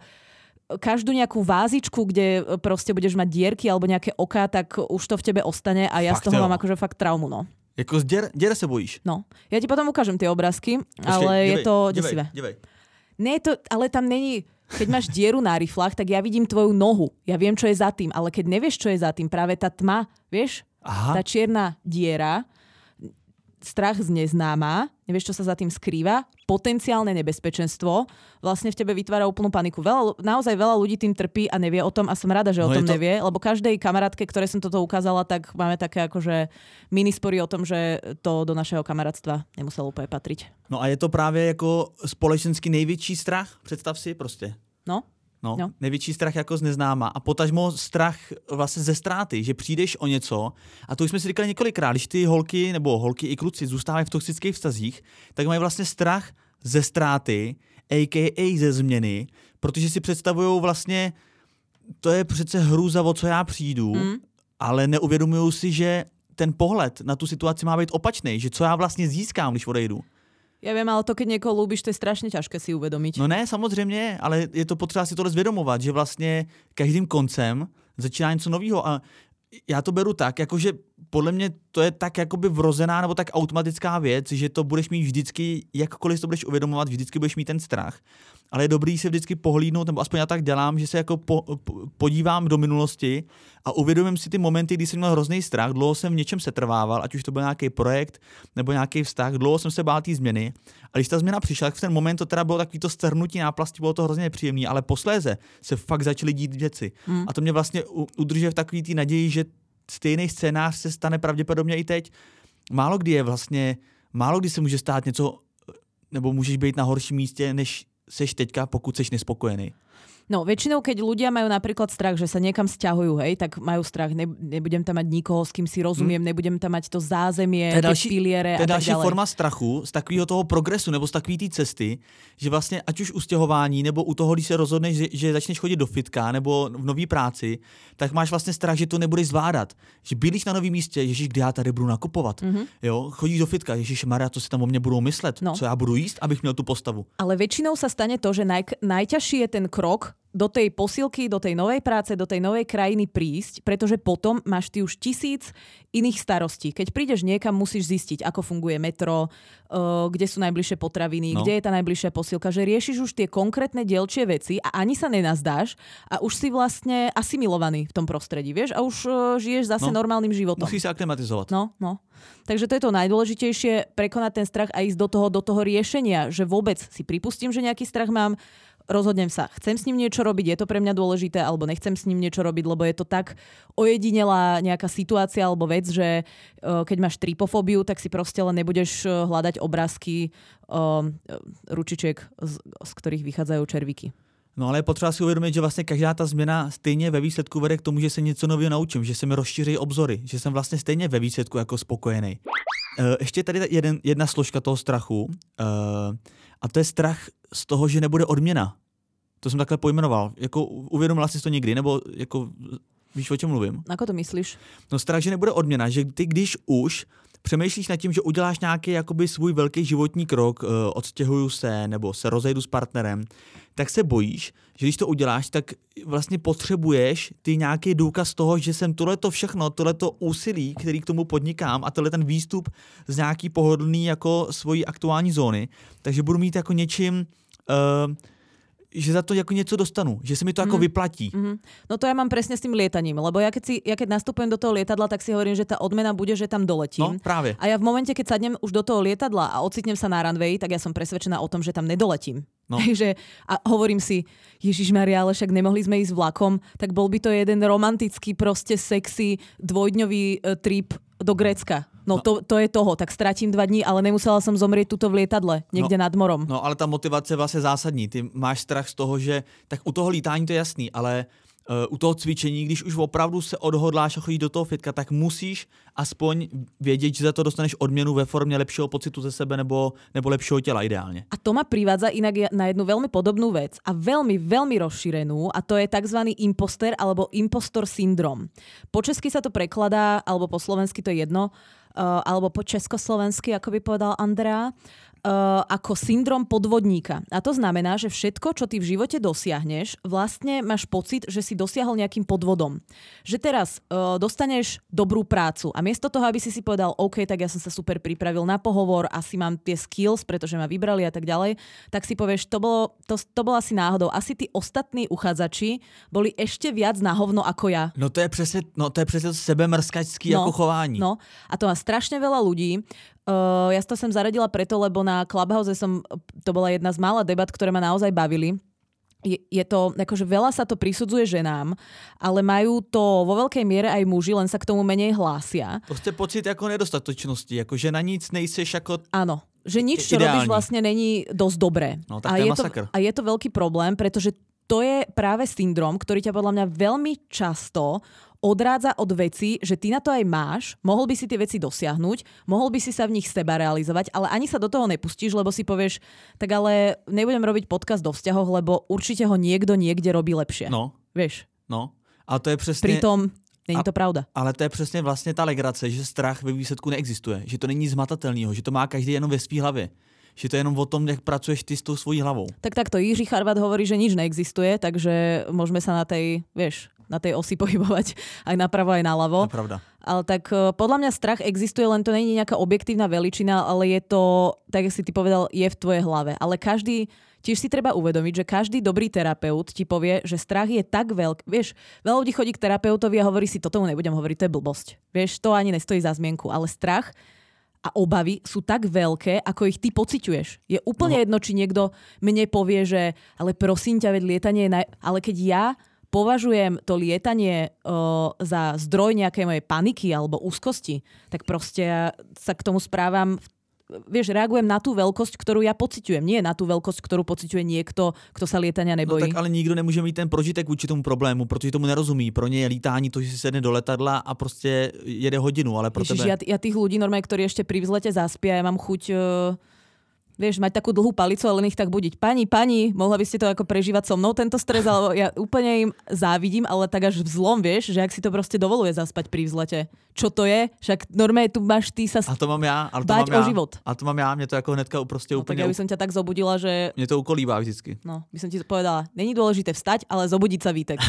A: každú nejakú vázičku, kde proste budeš mať dierky alebo nejaké oká, tak už to v tebe ostane a ja fakt, z toho jo. Mám akože fakt traumu, no.
B: Jako z dier, dier se bojíš?
A: No. Ja ti potom ukážem tie obrázky, Počkej, ale divej, je to desivé. Divej, divej. Nie je to, ale tam není, keď máš dieru na riflách, tak ja vidím tvoju nohu. Ja viem, čo je za tým, ale keď nevieš, čo je za tým, práve tá tma, vieš? Aha. Tá čierna diera, strach z neznáma, nevieš, čo sa za tým skrýva, potenciálne nebezpečenstvo, vlastne v tebe vytvára úplnú paniku. Veľa, naozaj veľa ľudí tým trpí a nevie o tom a som rada, že no o tom to... nevie, lebo každej kamarátke, ktoré som toto ukázala, tak máme také akože minispory o tom, že to do našeho kamarátstva nemuselo úplne patriť.
B: No a je to právě jako společensky největší strach? Představ si prostě.
A: No.
B: No, no, největší strach jako z neznáma a potažmo strach vlastně ze ztráty, že přijdeš o něco a to už jsme si říkali několikrát, když ty holky nebo holky i kluci zůstávají v toxických vztazích, tak mají vlastně strach ze ztráty, á ká á ze změny, protože si představují vlastně, to je přece hrůza, o co já přijdu, mm. ale neuvědomují si, že ten pohled na tu situaci má být opačný, že co já vlastně získám, když odejdu.
A: Ja viem, ale to, keď niekoho ľúbiš, to je strašne ťažké si uvedomiť.
B: No ne, samozřejmě, ale je to potřeba si tohle zvědomovat, že vlastně každým koncem začíná něco nového a já to beru tak, jakože podle mě to je tak jakoby vrozená nebo tak automatická věc, že to budeš mít vždycky, jakkoliv to budeš uvědomovat, vždycky budeš mít ten strach. Ale je dobrý se vždycky pohlídnout, nebo aspoň já tak dělám, že se jako po, po, podívám do minulosti a uvědomím si ty momenty, kdy jsem měl hrozný strach, dlouho jsem v něčem setrvával, ať už to byl nějaký projekt nebo nějaký vztah, dlouho jsem se bál té změny. A když ta změna přišla, tak v ten moment to teda bylo takový to strhnutí náplasti, bylo to hrozně nepříjemné, ale posléze se fakt začaly dít věci. Hmm. A to mě vlastně udržuje v takový té naději, že stejný scénář se stane pravděpodobně i teď. Málo kdy je vlastně, málo kdy se může stát něco, nebo můžeš být na horším místě, než seš teďka, pokud seš nespokojený.
A: No, väčšinou, keď ľudia majú napríklad strach, že sa niekam sťahujú, hej, tak majú strach, ne, nebudem tam mať nikoho, s kým si rozumiem, hmm. nebudem tam mať to zázemie,
B: to
A: další, tie piliere a tak ďalej. To je další
B: forma strachu z takového toho progresu nebo z takové té cesty, že vlastně ať už u stěhování nebo u toho, když se rozhodneš, že, že začneš chodit do fitka nebo v nový práci, tak máš vlastně strach, že to nebudeš zvládat. Že bydlíš na novém místě, ježiš, kde já tady budu nakupovat. Mm-hmm. Jo, chodíš do fitka, ježiš Maria, co si tam o mně budou myslet, no. Co já budu jíst, abych měl tu postavu.
A: Ale väčšinou sa stane to, že naj, najťažší je ten krok do tej posilky, do tej novej práce, do tej novej krajiny prísť, pretože potom máš ty už tisíc iných starostí. Keď prídeš niekam, musíš zistiť, ako funguje metro, uh, kde sú najbližšie potraviny, no. Kde je tá najbližšia posilka, že riešiš už tie konkrétne dielčie veci a ani sa nenazdáš a už si vlastne asimilovaný v tom prostredí, vieš, a už uh, žiješ zase no. normálnym životom.
B: Musíš sa aklimatizovať.
A: No, no. Takže to je to najdôležitejšie, prekonať ten strach a ísť do toho, do toho riešenia, že vôbec si pripustím, že nejaký strach mám, rozhodnem sa, chcem s ním niečo robiť, je to pre mňa dôležité, alebo nechcem s ním niečo robiť, lebo je to tak ojedinelá nejaká situácia alebo vec, že uh, keď máš trypofóbiu, tak si proste len nebudeš hľadať obrázky uh, ručičiek, z, z ktorých vychádzajú červíky.
B: No ale je potřeba si uvědomit, že vlastně každá ta změna stejně ve výsledku vede k tomu, že se něco nového naučím, že se mi rozšíří obzory, že jsem vlastně stejně ve výsledku jako spokojený. Uh, ještě tady jeden, jedna složka toho strachu uh, a to je strach z toho, že nebude odměna. To jsem takhle pojmenoval. Jako uvědomila jsi to někdy? Nebo jako víš, o čem mluvím?
A: Ako to myslíš?
B: No strach, že nebude odměna, že ty když už přemýšlíš nad tím, že uděláš nějaký jakoby svůj velký životní krok, uh, odstěhuju se nebo se rozejdu s partnerem, tak se bojíš, že když to uděláš, tak vlastně potřebuješ ty nějaký důkaz toho, že jsem tohleto všechno, tohleto úsilí, který k tomu podnikám a tohle ten výstup z nějaký pohodlný jako svojí aktuální zóny, takže budu mít jako něčím uh, že za to jako něco dostanu, že se mi to mm. jako vyplatí.
A: Mm. No to ja mám presne s tým lietaním, lebo ja keď, si, ja keď nastupujem do toho lietadla, tak si hovorím, že tá odmena bude, že tam doletím.
B: No, práve.
A: A ja v momente, keď sadnem už do toho lietadla a ocitnem sa na runway, tak ja som presvedčená o tom, že tam nedoletím. No. že, a hovorím si, Ježišmaria, ale však nemohli sme ísť vlakom, tak bol by to jeden romantický, proste sexy, dvojdňový uh, trip do Grécka. No, no. To, to je toho, tak stratím dva dní, ale nemusela som zomrieť tuto v lietadle, niekde
B: no,
A: nad morom.
B: No, ale ta motivace je vlastně zásadní. Ty máš strach z toho, že tak u toho lítání to je jasný, ale uh, u toho cvičení, když už opravdu se odhodláš a chodíš do toho fitka, tak musíš aspoň vědět, že za to dostaneš odměnu ve formě lepšího pocitu ze sebe nebo, nebo lepšího těla ideálně.
A: A to ma privádza inak na jednu veľmi podobnú vec a veľmi, veľmi rozšírenú, a to je tzv. Imposter alebo impostor syndrom. Po česky sa to prekladá, alebo po slovensky to je jedno, Uh, alebo po československy, ako by povedal Andrea, uh, ako syndrom podvodníka. A to znamená, že všetko, čo ty v živote dosiahneš, vlastne máš pocit, že si dosiahol nejakým podvodom. Že teraz uh, dostaneš dobrú prácu a miesto toho, aby si si povedal, OK, tak ja som sa super pripravil na pohovor, asi mám tie skills, pretože ma vybrali a tak ďalej, tak si povieš, to bolo, to, to bolo asi náhodou. Asi tí ostatní uchádzači boli ešte viac na hovno ako ja.
B: No to je přesně, no to je přesně sebemrskačský no, jako chování.
A: No, a to má strašne veľa ľudí. Uh, ja to sem zaradila preto, lebo na Clubhouse som, to bola jedna z mála debat, ktoré ma naozaj bavili. Je, je to, akože veľa sa to prisudzuje ženám, ale majú to vo veľkej miere aj muži, len sa k tomu menej hlásia.
B: Prostě pocit jako nedostatočnosti, jako že na nic nejseš jako...
A: Áno, že nič, čo
B: ideální.
A: robíš, vlastne není dosť dobré.
B: No, tak
A: a,
B: to je
A: je to, a je to veľký problém, pretože to je práve syndrom, ktorý ťa podľa mňa veľmi často odrádza od veci, že ty na to aj máš, mohol by si tie veci dosiahnuť, mohol by si sa v nich seba realizovať, ale ani sa do toho nepustíš, lebo si povieš, tak ale nebudem robiť podcast do vzťahov, lebo určite ho niekto niekde robí lepšie.
B: No.
A: Vieš?
B: No. A to je přesně...
A: Pritom není to pravda.
B: Ale to je přesně vlastně ta legrace, že strach ve výsledku neexistuje, že to není zmatatelného, že to má každý jenom ve svý hlavě. Že to je jenom o tom, jak pracuješ ty s tou svojí hlavou.
A: Tak takto Jiří Charvat hovorí, že nič neexistuje, takže môžeme sa na tej, vieš, na tej osi pohybovať aj napravo, aj naľavo.
B: To je pravda.
A: Ale tak podľa mňa strach existuje, len to nie je nejaká objektívna veličina, ale je to, tak jak si ty povedal, je v tvojej hlave. Ale každý, tiež si treba uvedomiť, že každý dobrý terapeut ti povie, že strach je tak veľký. Vieš, veľa ľudí chodí k terapeutovi a hovorí si, toto mu nebudem hovoriť, to je blbosť. Vieš, to ani nestojí za zmienku, ale strach a obavy sú tak veľké, ako ich ty pociťuješ. Je úplne no. jedno, či niekto mne povie, že ale prosím ťa, veď lietanie je... Naj... Ale keď ja považujem to lietanie uh, za zdroj nejakej mojej paniky alebo úzkosti, tak proste ja sa k tomu správam... Vieš, reagujem na tú veľkosť, ktorú ja pociťujem. Nie na tú veľkosť, ktorú pociťuje niekto, kto sa lietania nebojí.
B: No tak ale nikdo nemůže mít ten prožitek vůči tomu problému, protože tomu nerozumí. Pro ně je lítání to, že si sedne do letadla a prostě jede hodinu, ale pro
A: Ježiš,
B: tebe...
A: Ja, ja tých ľudí normálne, ktorí ešte pri vzlete zaspia, ja mám chuť... Uh... Vieš, mať takú dlhú palicu a len ich tak budiť. Pani, pani, mohla by ste to ako prežívať so mnou, tento stres, alebo ja úplne im závidím, ale tak až vzlom, vieš, že ak si to proste dovoluje zaspať pri vzlete. Čo to je? Však normálne tu máš ty sa
B: a to mám já, ale to
A: báť
B: mám
A: o
B: já.
A: život.
B: A to mám já, mě to jako hnedka prostě
A: no,
B: úplně...
A: tak ja by som ťa tak zobudila, že...
B: Mě to ukolíbá vždycky.
A: No, by som ti povedala, není dôležité vstať, ale zobudiť sa Vítek.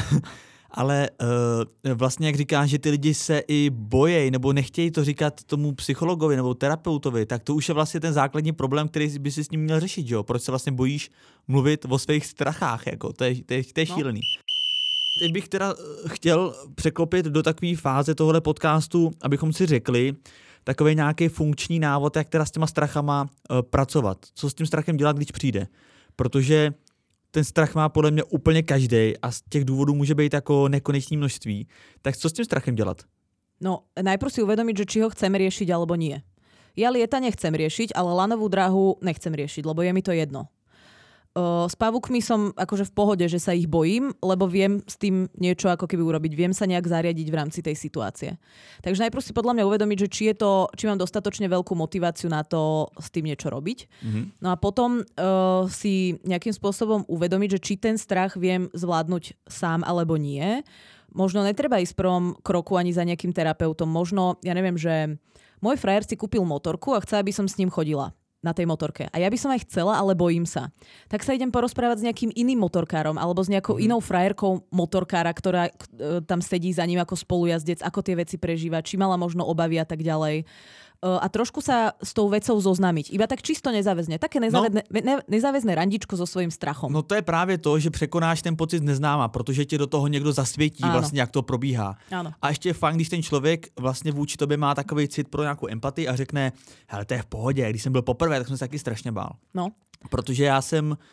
B: Ale uh, vlastně, jak říkáš, že ty lidi se i bojejí nebo nechtějí to říkat tomu psychologovi nebo terapeutovi, tak to už je vlastně ten základní problém, který by si s ním měl řešit, jo? Proč se vlastně bojíš mluvit o svých strachách, jako? To je, to je, to je šílený. No. Teď bych teda chtěl překlopit do takové fáze tohohle podcastu, abychom si řekli takový nějaký funkční návod, jak teda s těma strachama uh, pracovat. Co s tím strachem dělat, když přijde. Protože ten strach má podle mě úplně každý a z těch důvodů může být jako nekonečné množství. Tak co s tím strachem dělat?
A: No, najprv si uvedomiť, že či ho chcem riešiť alebo nie. Ja lietanie chcem riešiť, ale lanovú dráhu nechcem riešiť, lebo je mi to jedno. Uh, s pavúkmi som akože v pohode, že sa ich bojím, lebo viem s tým niečo ako keby urobiť. Viem sa nejak zariadiť v rámci tej situácie. Takže najprv si podľa mňa uvedomiť, že či, je to, či mám dostatočne veľkú motiváciu na to s tým niečo robiť. Mm-hmm. No a potom uh, si nejakým spôsobom uvedomiť, že či ten strach viem zvládnuť sám alebo nie. Možno netreba ísť v prvom kroku ani za nejakým terapeutom. Možno, ja neviem, že môj frajer si kúpil motorku a chce, aby som s ním chodila. na tej motorke. A ja by som aj chcela, ale bojím sa. Tak sa idem porozprávať s nejakým iným motorkárom alebo s nejakou mm. inou frajerkou motorkára, ktorá e, tam sedí za ním ako spolujazdec, ako tie veci prežíva, či mala možno obavy a tak ďalej. A trošku sa s tou vecou zoznámiť. Iba tak čisto nezáväzne. Také nezáväzne, no, ne, nezáväzné randičko so svojím strachom.
B: No to je právě to, že překonáš ten pocit neznáma, protože tě do toho někdo zasvětí, ano. vlastně, jak to probíhá.
A: Ano.
B: A ještě je fajn, když ten člověk vlastně vůči tobě má takový cit pro nějakou empatii a řekne, hele, to je v pohodě, když jsem byl poprvé, tak jsem se taky strašně bál.
A: No.
B: Protože já jsem, uh,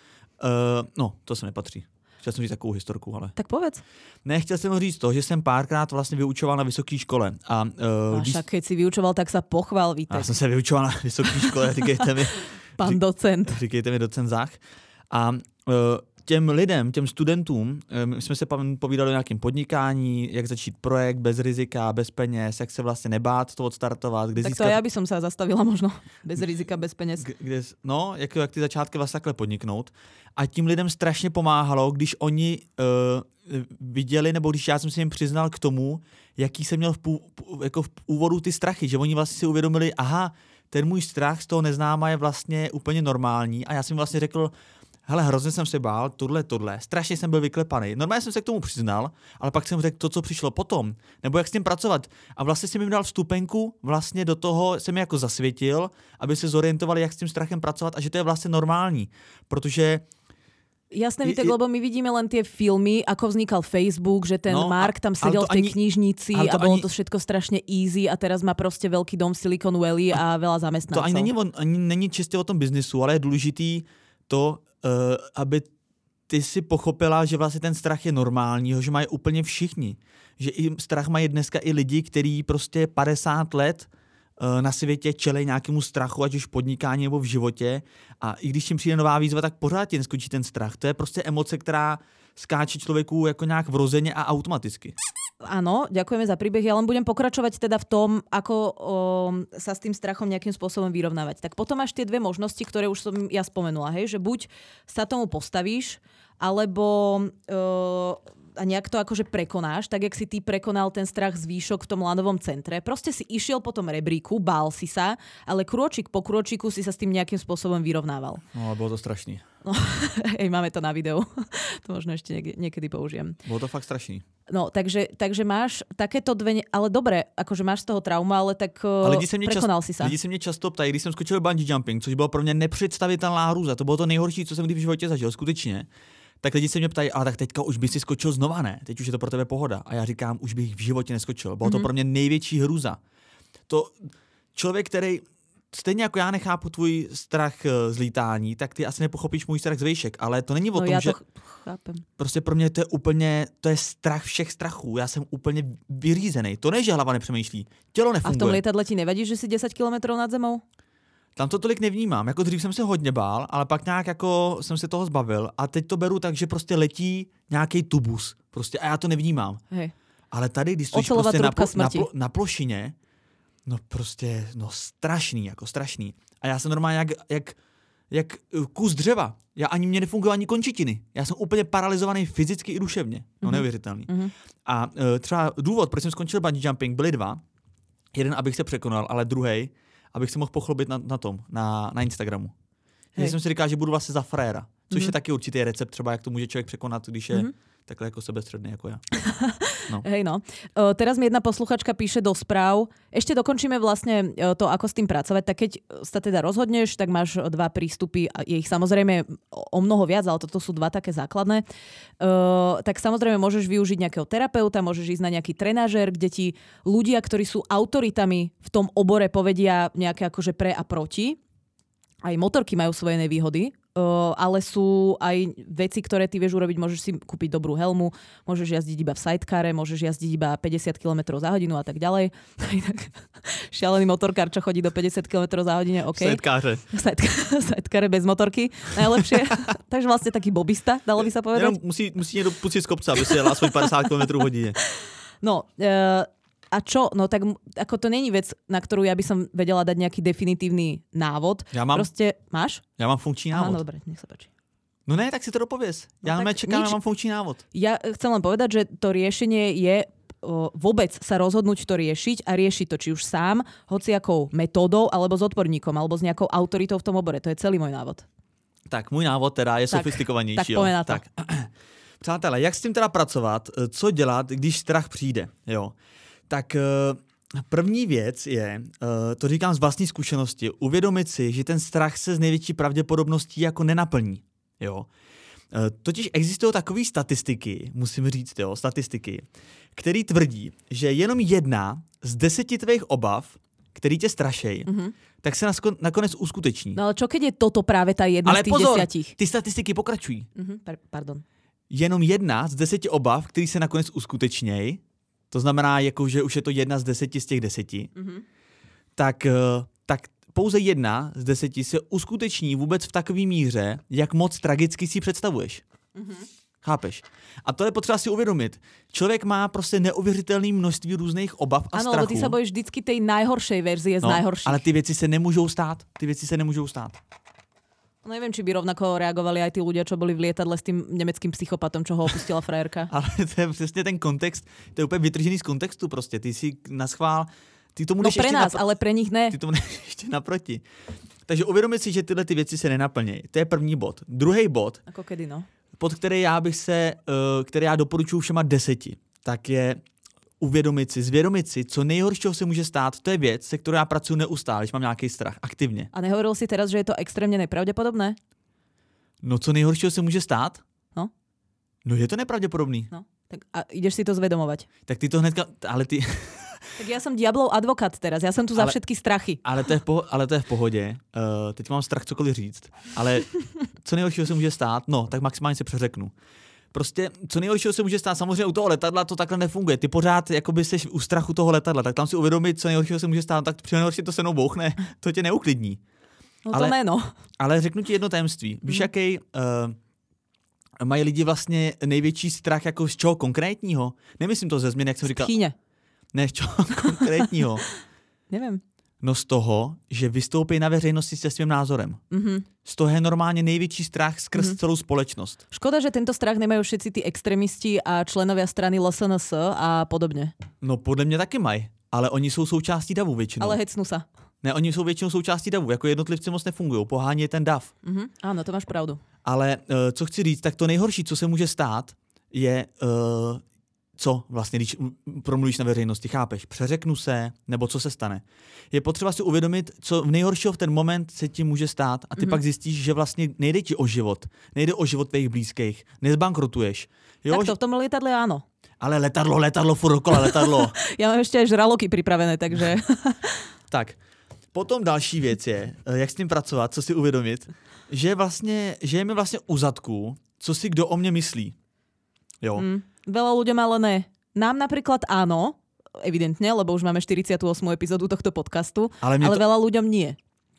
B: no, to se nepatří. Chtěl jsem říct takovou historku, ale...
A: Tak povedz.
B: Ne, chtěl jsem říct to, že jsem párkrát vlastně vyučoval na vysoké škole. A, uh,
A: a však keď si vyučoval, tak sa pochvál, Vítek.
B: Já jsem se vyučoval na vysoké škole, říkejte mi...
A: Pan docent.
B: Říkejte mi docent Zach. A uh, těm lidem, těm studentům, my jsme se povídali o nějakém podnikání, jak začít projekt bez rizika, bez peněz, jak se vlastně nebát to odstartovat. Kde
A: tak
B: získat...
A: to já by som sa zastavila možno bez rizika, bez peněz.
B: Kde, no, jak, jak ty začátky vlastně takhle podniknout. A tím lidem strašně pomáhalo, když oni uh, viděli, nebo když já jsem si jim přiznal k tomu, jaký jsem měl v, pů, jako v úvodu ty strachy, že oni vlastně si uvědomili, aha, ten můj strach z toho neznáma je vlastně úplně normální a já jsem vlastně řekl, hele, hrozně jsem se bál, tohle, tohle, strašně jsem byl vyklepaný. Normálně jsem se k tomu přiznal, ale pak jsem řekl to, co přišlo potom, nebo jak s tím pracovat. A vlastně jsem jim dal vstupenku, vlastně do toho jsem je jako zasvětil, aby se zorientovali, jak s tím strachem pracovat a že to je vlastně normální, protože
A: jasné, Vítek, lebo my vidíme len tie filmy, ako vznikal Facebook, že ten no, Mark tam sedel v tej ani, knižnici a bolo ani, to všetko strašne easy a teraz má proste veľký dom v Silicon Valley a, a veľa zamestnancov.
B: To ani není, ani není čistě o tom biznisu, ale je důležitý to, uh, aby ty si pochopila, že vlastně ten strach je normální, že mají úplně všichni. Že i strach mají dneska i lidi, kteří prostě padesát let na světě čelej nějakému strachu, ať už v podnikání nebo v životě. A i když jim přijde nová výzva, tak pořád ti neskočí ten strach. To je prostě emoce, která skáče člověku jako nějak vrozeně a automaticky.
A: Áno, ďakujeme za príbeh. Ja len budem pokračovať teda v tom, ako o, sa s tým strachom nejakým spôsobom vyrovnávať. Tak potom máš tie dve možnosti, ktoré už som ja spomenula, hej, že buď sa tomu postavíš, alebo o, a nejak to akože prekonáš, tak jak si ty prekonal ten strach z výšok v tom lanovom centre. Proste si išiel po tom rebríku, bál si sa, ale krôčik po krôčiku si sa s tým nejakým spôsobom vyrovnával.
B: No, bolo to strašný.
A: No, hej, máme to na videu. To možno ešte niekedy použijem.
B: Bolo to fakt strašný.
A: No, takže, takže máš takéto dve... Ale dobre, akože máš z toho trauma, ale tak ale prekonal
B: čas,
A: si sa.
B: Lidi se mě často ptají, když jsem skočil bungee jumping, což bylo pro mě nepředstavitelná hrůza. To bylo to nejhorší, co jsem kdy v životě zažil, skutečně. Tak lidi se mě ptají, ale tak teďka už by si skočil znova, ne? Teď už je to pro tebe pohoda. A já říkám, už bych v životě neskočil. Bylo mm-hmm. to pro mě největší hrůza. To člověk, který stejně jako já nechápu tvůj strach z lítání, tak ty asi nepochopíš můj strach z vejšek, ale to není o
A: no,
B: tom,
A: já
B: že
A: to chápem.
B: Prostě pro mě to je úplně, to je strach všech strachů. Já jsem úplně vyřízený. To ne, že hlava nepřemýšlí. Tělo nefunguje.
A: A v tom lietadle ti nevadí, že si desať kilometrov nad zemou?
B: Tam to tolik nevnímám. Jako dřív jsem se hodně bál, ale pak nějak jako jsem se toho zbavil a teď to beru tak, že prostě letí nějaký tubus. Prostě a já to nevnímám.
A: Hej.
B: Ale tady, když stojíš prostě na, plo, na, plo, na plošině, no prostě, no strašný, jako strašný. A já jsem normálně jak, jak, jak kus dřeva. Já ani mě nefungují ani končetiny. Já jsem úplně paralizovaný fyzicky i duševně. No mm-hmm. neuvěřitelný. Mm-hmm. A uh, třeba důvod, proč jsem skončil bungee jumping, byly dva. Jeden, abych se překonal, ale druhý, abych se mohl pochlubit na, na tom, na, na Instagramu. Když jsem si říkal, že budu vlastně za fréra. Což mm-hmm. je taky určitý recept, třeba jak to může člověk překonat, když je mm-hmm. takhle jako sebestředný jako ja.
A: No. Hej no. Uh, teraz mi jedna posluchačka píše do správ. Ešte dokončíme vlastne uh, to, ako s tým pracovať. Tak keď sa teda rozhodneš, tak máš dva prístupy. Je ich samozrejme o mnoho viac, ale toto sú dva také základné. Uh, tak samozrejme môžeš využiť nejakého terapeuta, môžeš ísť na nejaký trenažér, kde ti ľudia, ktorí sú autoritami v tom obore, povedia nejaké akože pre a proti. Aj motorky majú svoje nevýhody, uh, ale sú aj veci, ktoré ty vieš urobiť. Môžeš si kúpiť dobrú helmu, môžeš jazdiť iba v sidecare, môžeš jazdiť iba päťdesiat kilometrov za hodinu a tak ďalej. Šialený motorkár, čo chodí do päťdesiat kilometrov za hodinu, OK.
B: Sidecare.
A: Sidecare bez motorky, najlepšie. Takže vlastne taký bobista, dalo by sa povedať.
B: Jenom musí, musí niekto pustiť z kopca, aby si jela svoj päťdesiat kilometrov v hodine.
A: No, uh, a čo? No tak ako to není vec, na ktorú ja by som vedela dať nejaký definitívny návod.
B: Ja mám,
A: Proste, máš?
B: Ja mám funkčný návod.
A: Áno, dobre, nech sa páči.
B: No ne, tak si to dopovies. Ja no, čakám, ja mám funkčný návod.
A: Ja chcem len povedať, že to riešenie je o, vôbec sa rozhodnúť to riešiť a riešiť to či už sám, hociakou metódou, alebo s odborníkom, alebo s nejakou autoritou v tom obore. To je celý môj návod.
B: Tak, můj návod teda je
A: tak,
B: sofistikovanější.
A: Tak pojďme na to.
B: Tak. Přátelé, jak s tím teda pracovat, co dělat, když strach přijde, jo? Tak první věc je, to říkám z vlastní zkušenosti, uvědomit si, že ten strach se z největší pravděpodobností jako nenaplní, jo? Totiž existují takové statistiky, musím říct, jo, statistiky, které tvrdí, že jenom jedna z deseti tvých obav, který tě strašej, mm-hmm. tak se nakonec uskuteční.
A: No ale čo keď je toto právě ta jedna
B: ale
A: z těch
B: pozor,
A: desiatich?
B: Ty statistiky pokračují.
A: Mm-hmm, pardon.
B: Jenom jedna z deseti obav, který se nakonec uskutečnějí, to znamená, jako, že už je to jedna z deseti z těch deseti, mm-hmm. tak, tak pouze jedna z deseti se uskuteční vůbec v takové míře, jak moc tragicky si představuješ. Mm-hmm. Chápeš? A to je potřeba si uvědomit. Člověk má prostě neuvěřitelné množství různých obav a
A: ano,
B: strachu.
A: Ano, lebo ty se bojíš vždycky tej najhoršej verzie z
B: no,
A: najhorších.
B: Ale ty věci se nemůžou stát. Ty věci se nemůžou stát.
A: No neviem, či by rovnako reagovali aj tí ľudia, čo boli v lietadle s tým nemeckým psychopatom, čo ho opustila frajerka.
B: Ale to je přesně ten kontext, to je úplně vytržený z kontextu prostě. Ty si naschvál, ty tomu
A: no
B: jdeš
A: pre
B: ještě
A: nás,
B: napr-
A: ale pre nich ne.
B: Ty tomu jdeš ještě naproti. Takže uvědomit si, že tyhle ty věci se nenaplnějí. To je první bod. Druhý bod,
A: ako kedy, no?
B: pod který já bych se, který já doporučuji všema deseti, tak je uvědomit si, zvědomit si, co nejhoršího se může stát. To je věc, se kterou já pracuji neustále, když mám nějaký strach, aktivně.
A: A nehovoril si teraz, že je to extrémně nepravděpodobné?
B: No co nejhoršího se může stát?
A: No.
B: No je to nepravděpodobný.
A: No, tak a ideš si to zvedomovať.
B: Tak ty to hnedka, ale ty...
A: Tak ja som diablov advokát teraz, ja som tu za
B: ale,
A: všetky strachy.
B: Ale to je v, poho- ale to je v pohodě. Uh, teď mám strach cokoliv říct. Ale co nejhoršího se může stát? No, tak maximálně se přeřeknu. Prostě, co nejhoršího se může stát, samozřejmě u toho letadla to takhle nefunguje. Ty pořád jakoby seš u strachu toho letadla, tak tam si uvědomit, co nejhoršího se může stát, tak při nejhorší to se mnou bouchne, to tě neuklidní.
A: No to
B: ale,
A: ne, no.
B: Ale řeknu ti jedno tajemství. Víš, mm. jaký uh, mají lidi vlastně největší strach jako z čeho konkrétního? Nemyslím to ze změny, jak jsem říkal.
A: Pchýně.
B: Ne, z čeho konkrétního.
A: Nevím.
B: No z toho, že vystoupí na veřejnosti se svým názorem. Mm-hmm. Z toho je normálně největší strach skrz mm-hmm. celou společnost.
A: Škoda, že tento strach nemají všetci ty extrémisti a členovia strany L S N S a podobně.
B: No podle mě taky mají, ale oni jsou součástí davu většinou.
A: Ale hecnú sa.
B: Ne, oni jsou většinou součástí davu, jako jednotlivci moc nefungují, pohání je ten dav.
A: Mm-hmm. Áno, to máš pravdu.
B: Ale uh, co chci říct, tak to nejhorší, co se může stát, je... Uh, co vlastně, když promluvíš na veřejnosti, chápeš? Přeřeknu se, nebo co se stane. Je potřeba si uvědomit, co v nejhoršího v ten moment se ti může stát a ty mm-hmm. pak zjistíš, že vlastně nejde ti o život, nejde o život tvých blízkých, nezbankrotuješ. Jo?
A: Tak to v tom lietadle áno.
B: Ale letadlo, letadlo, furt dokola, letadlo.
A: Já mám ještě aj žraloky připravené, takže...
B: Tak, potom další věc je, jak s tím pracovat, co si uvědomit, že vlastně, že je mi vlastně u zadku, co si kdo o mě myslí. Jo.
A: Mm. Veľa ľuďom ale ne. Nám napríklad áno, evidentne, lebo už máme štyridsiatu ôsmu epizódu tohto podcastu, ale, ale to... veľa ľuďom nie.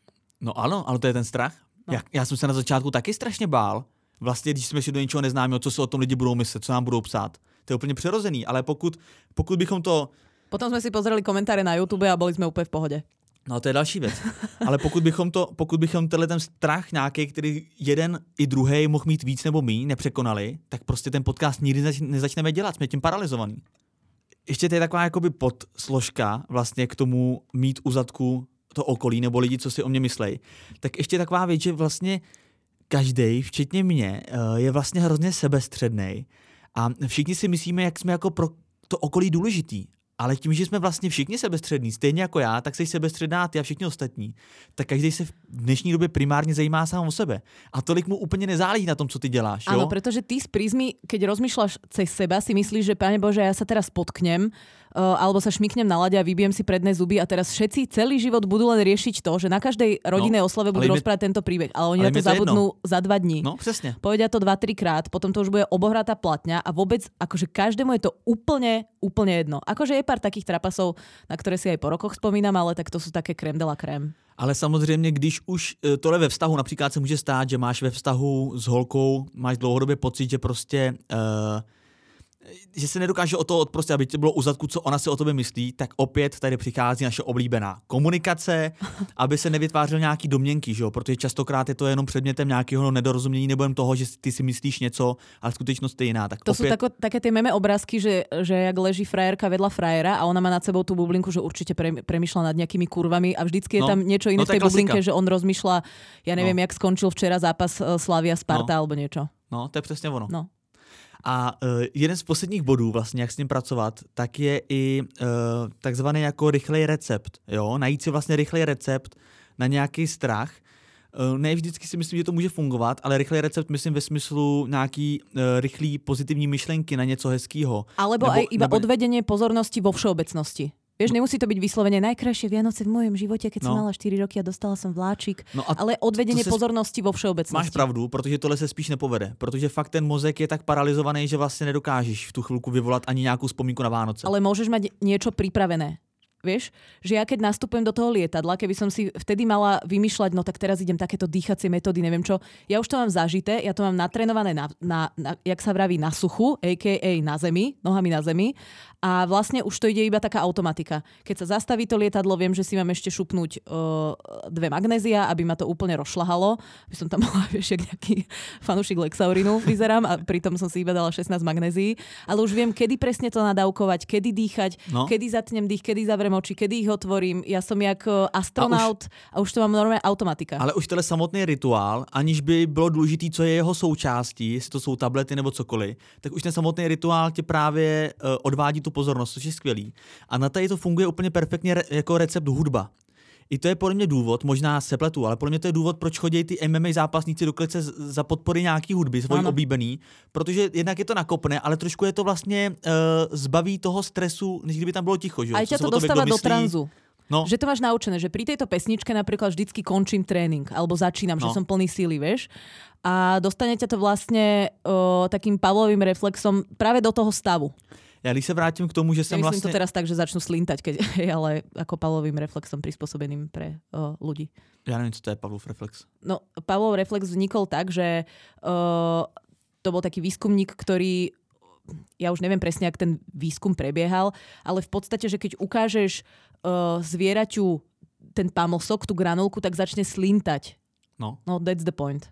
B: No ano, ale to je ten strach. No. Já, já jsem se na začátku taky strašně bál. Vlastně, když jsme šli do něčeho neznámého, co si o tom lidi budou myslet, co nám budou psát. To je úplně přirozený, ale pokud, pokud bychom to...
A: Potom jsme si pozreli komentáře na YouTube a byli jsme úplně v pohodě.
B: No to je další věc. Ale pokud bychom to, pokud bychom tenhle ten strach nějaký, který jeden i druhý mohl mít víc nebo míň, nepřekonali, tak prostě ten podcast nikdy nezač- nezačneme dělat, jsme tím paralizovaný. Ještě to je taková jakoby podsložka vlastně k tomu mít u zadku to okolí nebo lidi, co si o mě myslej. Tak ještě taková věc, že vlastně každej, včetně mě, je vlastně hrozně sebestřednej a všichni si myslíme, jak jsme jako pro to okolí důležitý. Ale tím, že jsme vlastně všichni sebestřední, stejně jako já, tak jsi sebestředná ty a všichni ostatní, tak každý se v dnešní době primárně zajímá sám o sebe. A tolik mu úplně nezáleží na tom, co ty děláš.
A: Áno, pretože ty z prízmy, keď rozmýšľaš cez seba, si myslíš, že Pane Bože, ja sa teraz potknem, uh, alebo sa šmyknem na lade a vybijem si predné zuby a teraz všetci celý život budú len riešiť to, že na každej rodinnej
B: no,
A: oslave budú rozprávať je... tento príbeh. Ale oni
B: ale
A: na to zabudnú jedno. za dva dní.
B: No, přesně.
A: Povedia to dva, tri krát, potom to už bude obohratá platňa a vôbec, akože každému je to úplne, úplne jedno. Akože je pár takých trapasov, na ktoré si aj po rokoch spomínam, ale tak to sú také crème de la crème.
B: Ale samozřejmě, když už tohle ve vztahu, například se může stát, že máš ve vztahu s holkou, máš dlouhodobě pocit, že prostě uh, že se nedokáže o to odprostit, aby to bylo u zadku, co ona si o tobě myslí, tak opět tady přichází naše oblíbená komunikace, aby se nevytvářel nějaký domněnky, že jo? Protože častokrát je to jenom předmětem nějakého nedorozumění nebo jen toho, že ty si myslíš něco, ale skutečnost je jiná. Tak
A: to
B: opět...
A: sú tako, také tie meme obrázky, že, že jak leží frajerka vedľa frajera a ona má nad sebou tú bublinku, že určite pre, premýšľa nad nejakými kurvami a vždycky je
B: no,
A: tam niečo iné
B: no,
A: v tej bublinke,
B: klasika.
A: že on rozmýšľa, ja neviem, no. jak skončil včera zápas Slavia Sparta
B: no.
A: alebo niečo.
B: No, to je přesně ono.
A: No.
B: A uh, jeden z posledních bodů, vlastně, jak s ním pracovat, tak je i uh, takzvaný jako rychlej recept. Jo? Najít si vlastně rychlej recept na nějaký strach. Uh, ne vždycky si myslím, že to může fungovat, ale rychlej recept myslím ve smyslu nějaký uh, rychlý pozitivní myšlenky na něco hezkýho.
A: Alebo nebo, aj iba nebo... odvedenie pozornosti vo všeobecnosti. Vieš, nemusí to byť vyslovene najkrajšie Vianoce v mojom živote, keď no. som mala štyri roky a dostala som vláčik, no a ale odvedenie pozornosti vo všeobecnosti.
B: Máš pravdu, protože tohle se spíš nepovede, protože fakt ten mozek je tak paralizovaný, že vlastně nedokážeš v tu chvilku vyvolat ani nějakou vzpomínku na Vánoce.
A: Ale môžeš mať niečo pripravené. Vieš, že ja keď nastupujem do toho lietadla, keby som si vtedy mala vymýšľať, no tak teraz idem takéto dýchacie metódy, neviem čo, ja už to mám zažité, ja to mám natrénované na, na, na jak sa vraví, na suchu, á ká á na zemi, nohami na zemi a vlastne už to ide iba taká automatika. Keď sa zastaví to lietadlo, viem, že si mám ešte šupnúť uh, dve magnézia, aby ma to úplne rozšľahalo, aby som tam mala, vieš, jak nejaký fanúšik Lexaurinu vyzerám a pritom som si iba dala šestnásť magnézií, ale už viem, kedy presne to nadávkovať, kedy dýchať, no. kedy zatnem dých, kedy zavriem oči, kedy ich otvorím. Ja som jak astronaut a už, a už to mám normálne automatika.
B: Ale už tenhle samotný rituál, aniž by bylo důležitý, co je jeho součástí, jestli to jsou tablety nebo cokoliv, tak už ten samotný rituál tě právě uh, odvádí tu pozornost, což je skvělý. A na tady to funguje úplně perfektně re- jako recept hudba. I to je podle mě důvod, možná se pletu, ale podle mě to je důvod, proč chodí ty M M A zápasníci do klece za podpory nějaký hudby, svojí oblíbený, protože jednak je to nakopne, ale trošku je to vlastně uh, zbaví toho stresu, než kdyby tam bylo ticho. Že?
A: Aj ťa to dostáva do tranzu. No. Že to máš naučené, že pri tejto pesničke napríklad vždycky končím tréning, alebo začínam, no. že som plný síly, vieš. A dostane ťa to vlastne uh, takým Pavlovým reflexom práve do toho stavu.
B: Já když se vrátím k tomu, že jsem
A: ja
B: vlastně...
A: to teraz tak, že začnu slintať, keď, ale ako Pavlovým reflexom prispôsobeným pre uh, ľudí.
B: Já nevím, co to je Pavlov reflex.
A: No, Pavlov reflex vznikol tak, že uh, to bol taký výskumník, ktorý, ja už neviem presne, jak ten výskum prebiehal, ale v podstate, že keď ukážeš uh, zvieraťu ten pamlsok, tú granulku, tak začne slintať.
B: No.
A: No, that's the point.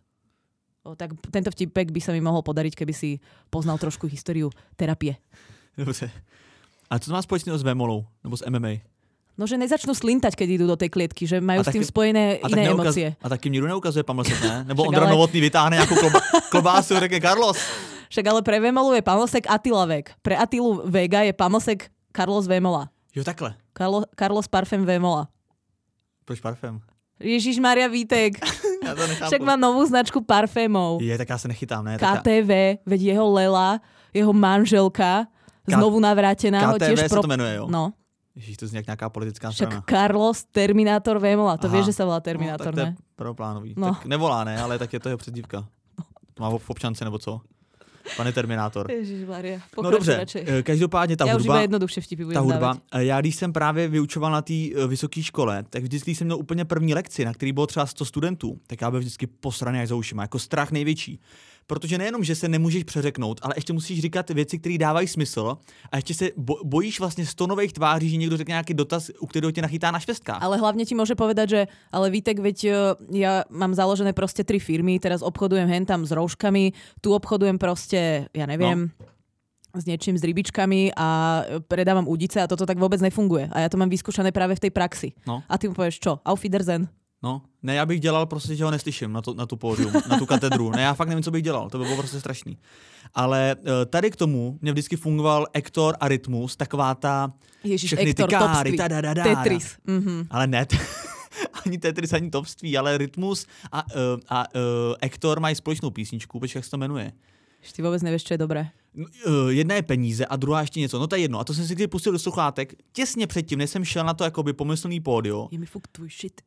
A: O, tak tento vtipek by sa mi mohol podariť, keby si poznal trošku históriu terapie.
B: Dobře. A co to má společného s Vémolou? Nebo s M M A?
A: No, že nezačnú slintať, keď idú do tej klietky, že majú s tým spojené
B: a
A: iné
B: neukaz,
A: emócie.
B: A taky nikdo neukazuje pamlsek, ne? Nebo Ondra ale... Novotný vytáhne nějakou kloba, klobásu a řekne Carlos.
A: Však ale pre Vémolu je pamlsek Attila Vek. Pre Attilu Vega je pamlsek Carlos Vémola.
B: Jo, takhle.
A: Carlo, Carlos Parfém Vémola.
B: Proč parfém?
A: Ježišmaria Vítek.
B: Já to nechápu.
A: Však má novú značku parfémov.
B: Je, tak já se nechytám, ne?
A: K T V, veď jeho Lela, jeho manželka, znovu navrátená.
B: K T V se
A: pro...
B: to jmenuje, jo?
A: No.
B: Ježiš, to zní jak nějaká politická
A: strana.
B: strana.
A: Však Carlos Terminátor Vémola. To vieš, že sa volá Terminátor,
B: no, tak
A: ne?
B: to je prvoplánový.
A: No.
B: Tak nevolá, ne? Ale tak je to jeho přezdívka. To má v občance, nebo co? Pane Terminátor.
A: Ježišmaria,
B: no dobře,
A: radšej.
B: Každopádně ta
A: já
B: hudba,
A: už iba jednoduchšie vtipy budem
B: ta hudba,
A: dávať.
B: Já když jsem právě vyučoval na té vysoké škole, tak vždycky jsem měl úplně první lekci, na který bylo třeba sto studentů, tak já byl vždycky posraný až za ušima, jako strach největší. Protože nejenom, že se nemůžeš přeřeknout, ale ještě musíš říkat věci, které dávají smysl a ještě se bojíš vlastně sto nových tváří, že někdo řekne nějaký dotaz, u kterého tě nachytá na švestkách.
A: Ale hlavně ti môže povedať, že ale Vítek, veď ja mám založené proste tri firmy, teraz obchodujem hentam s rouškami, tu obchodujem proste, ja neviem, no. s niečím, s rybičkami a predávam udice a toto tak vôbec nefunguje. A ja to mám vyskúšané práve v tej praxi.
B: No.
A: A ty mu povieš čo? Auf Wiedersehen.
B: No, ne, já bych dělal prostě, že ho neslyším na, to, na tu pódium, na tu katedru. Ne, já fakt nevím, co bych dělal, to by bylo prostě strašný. Ale tady k tomu mě vždycky fungoval Ektor a Rytmus, taková ta
A: Ježiš,
B: všechny
A: Ektor,
B: ty káry, ta da, da, da,
A: Tetris. Mm-hmm.
B: Ale ne, t- ani Tetris, ani Topství, ale Rytmus a, uh, a uh, Ektor mají společnou písničku, počkej, jak se to jmenuje.
A: Ty vůbec nevíš, čo je dobré.
B: Uh, jedna je peníze a druhá ještě něco. No to je jedno. A to jsem si když pustil do sluchátek těsně předtím, než jsem šel na to jakoby pomyslný pódio.
A: Je mi fuk tvůj shit.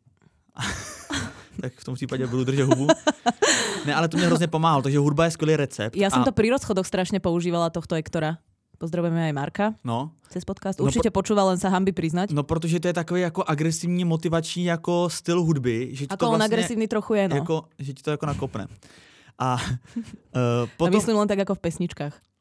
B: Tak v tom případě budu držet hubu. Ne, ale to mě hrozně pomáhalo, takže hudba je skvělý recept.
A: Ja som
B: a...
A: to pri rozchodoch strašne používala tohto Ektora. Pozdravujeme aj Marka.
B: No.
A: Cez podcast. Určitě no, po... počúval, len sa hanby priznať.
B: No, protože to je takový jako agresivní motivační jako styl hudby. Že
A: ako
B: to
A: on
B: vlastně,
A: agresívny trochu je, no.
B: Jako, že ti to jako nakopne. A uh, potom...
A: A myslím len tak ako v pesničkách.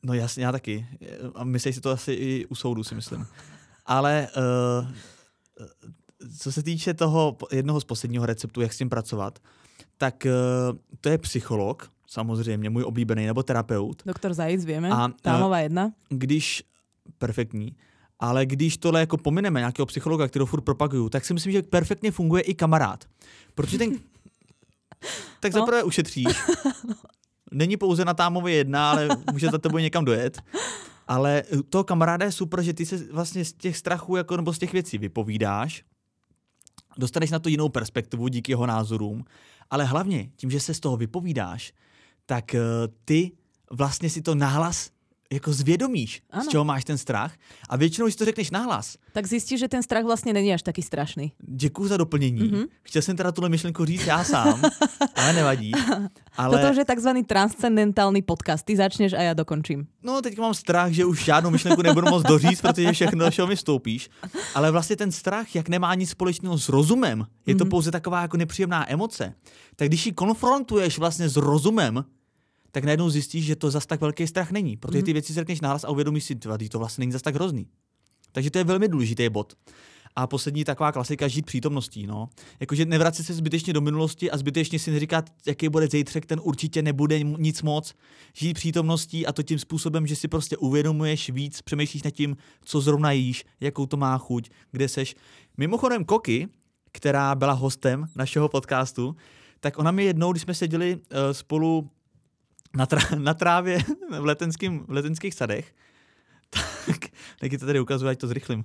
B: No jasně, já taky. A myslíš si to asi i u soudu, si myslím. Ale uh, co se týče toho jednoho z posledního receptu, jak s tím pracovat, tak uh, to je psycholog, samozřejmě, můj oblíbený, nebo terapeut.
A: Doktor Zajíc, vieme. A, Támová jedna.
B: Když, perfektní, ale když tohle jako pomineme nějakého psychologa, kterého furt propaguju, tak si myslím, že perfektně funguje i kamarád. Protože ten... tak zaprvé no. ušetříš. Není pouze na Támově jedna, ale může za tebou někam dojet. Ale toho kamaráda je super, že ty se vlastně z těch strachů jako, nebo z těch věcí vypovídáš, dostaneš na to jinou perspektivu díky jeho názorům, ale hlavně tím, že se z toho vypovídáš, tak uh, ty vlastně si to nahlas jako zvědomíš, ano. z čeho máš ten strach a většinou, když to řekneš nahlas.
A: Tak zjistíš, že ten strach vlastně není až taky strašný.
B: Děkuju za doplnění. Mm-hmm. Chtěl jsem teda tuhle myšlenku říct já sám, ale nevadí. Ale...
A: Toto už je takzvaný transcendentální podcast. Ty začneš a já dokončím.
B: No, teď mám strach, že už žádnou myšlenku nebudu moc doříct, protože všechno, do čeho mi vstoupíš. Ale vlastně ten strach, jak nemá nic společného s rozumem, je to mm-hmm. pouze taková jako nepříjemná emoce. Tak když ji konfrontuješ vlastně s rozumem, tak najednou zjistíš, že to zas tak velký strach není. Protože ty věci řekneš nahlas a uvědomíš si, že to vlastně není zas tak hrozný. Takže to je velmi důležitý bod. A poslední taková klasika, žít přítomností. No. Jakože nevracet se zbytečně do minulosti a zbytečně si neříkat, jaký bude zítřek, ten určitě nebude nic moc. Žít přítomností a to tím způsobem, že si prostě uvědomuješ víc, přemýšlíš nad tím, co zrovna jíš, jakou to má chuť, kde seš. Mimochodem Koky, která byla hostem našeho podcastu, tak ona mi jednou, když jsme seděli uh, spolu Na, trá- na trávě v, letenským, v letenských sadech, tak, taky to tady ukazuje, ať to zrychlím.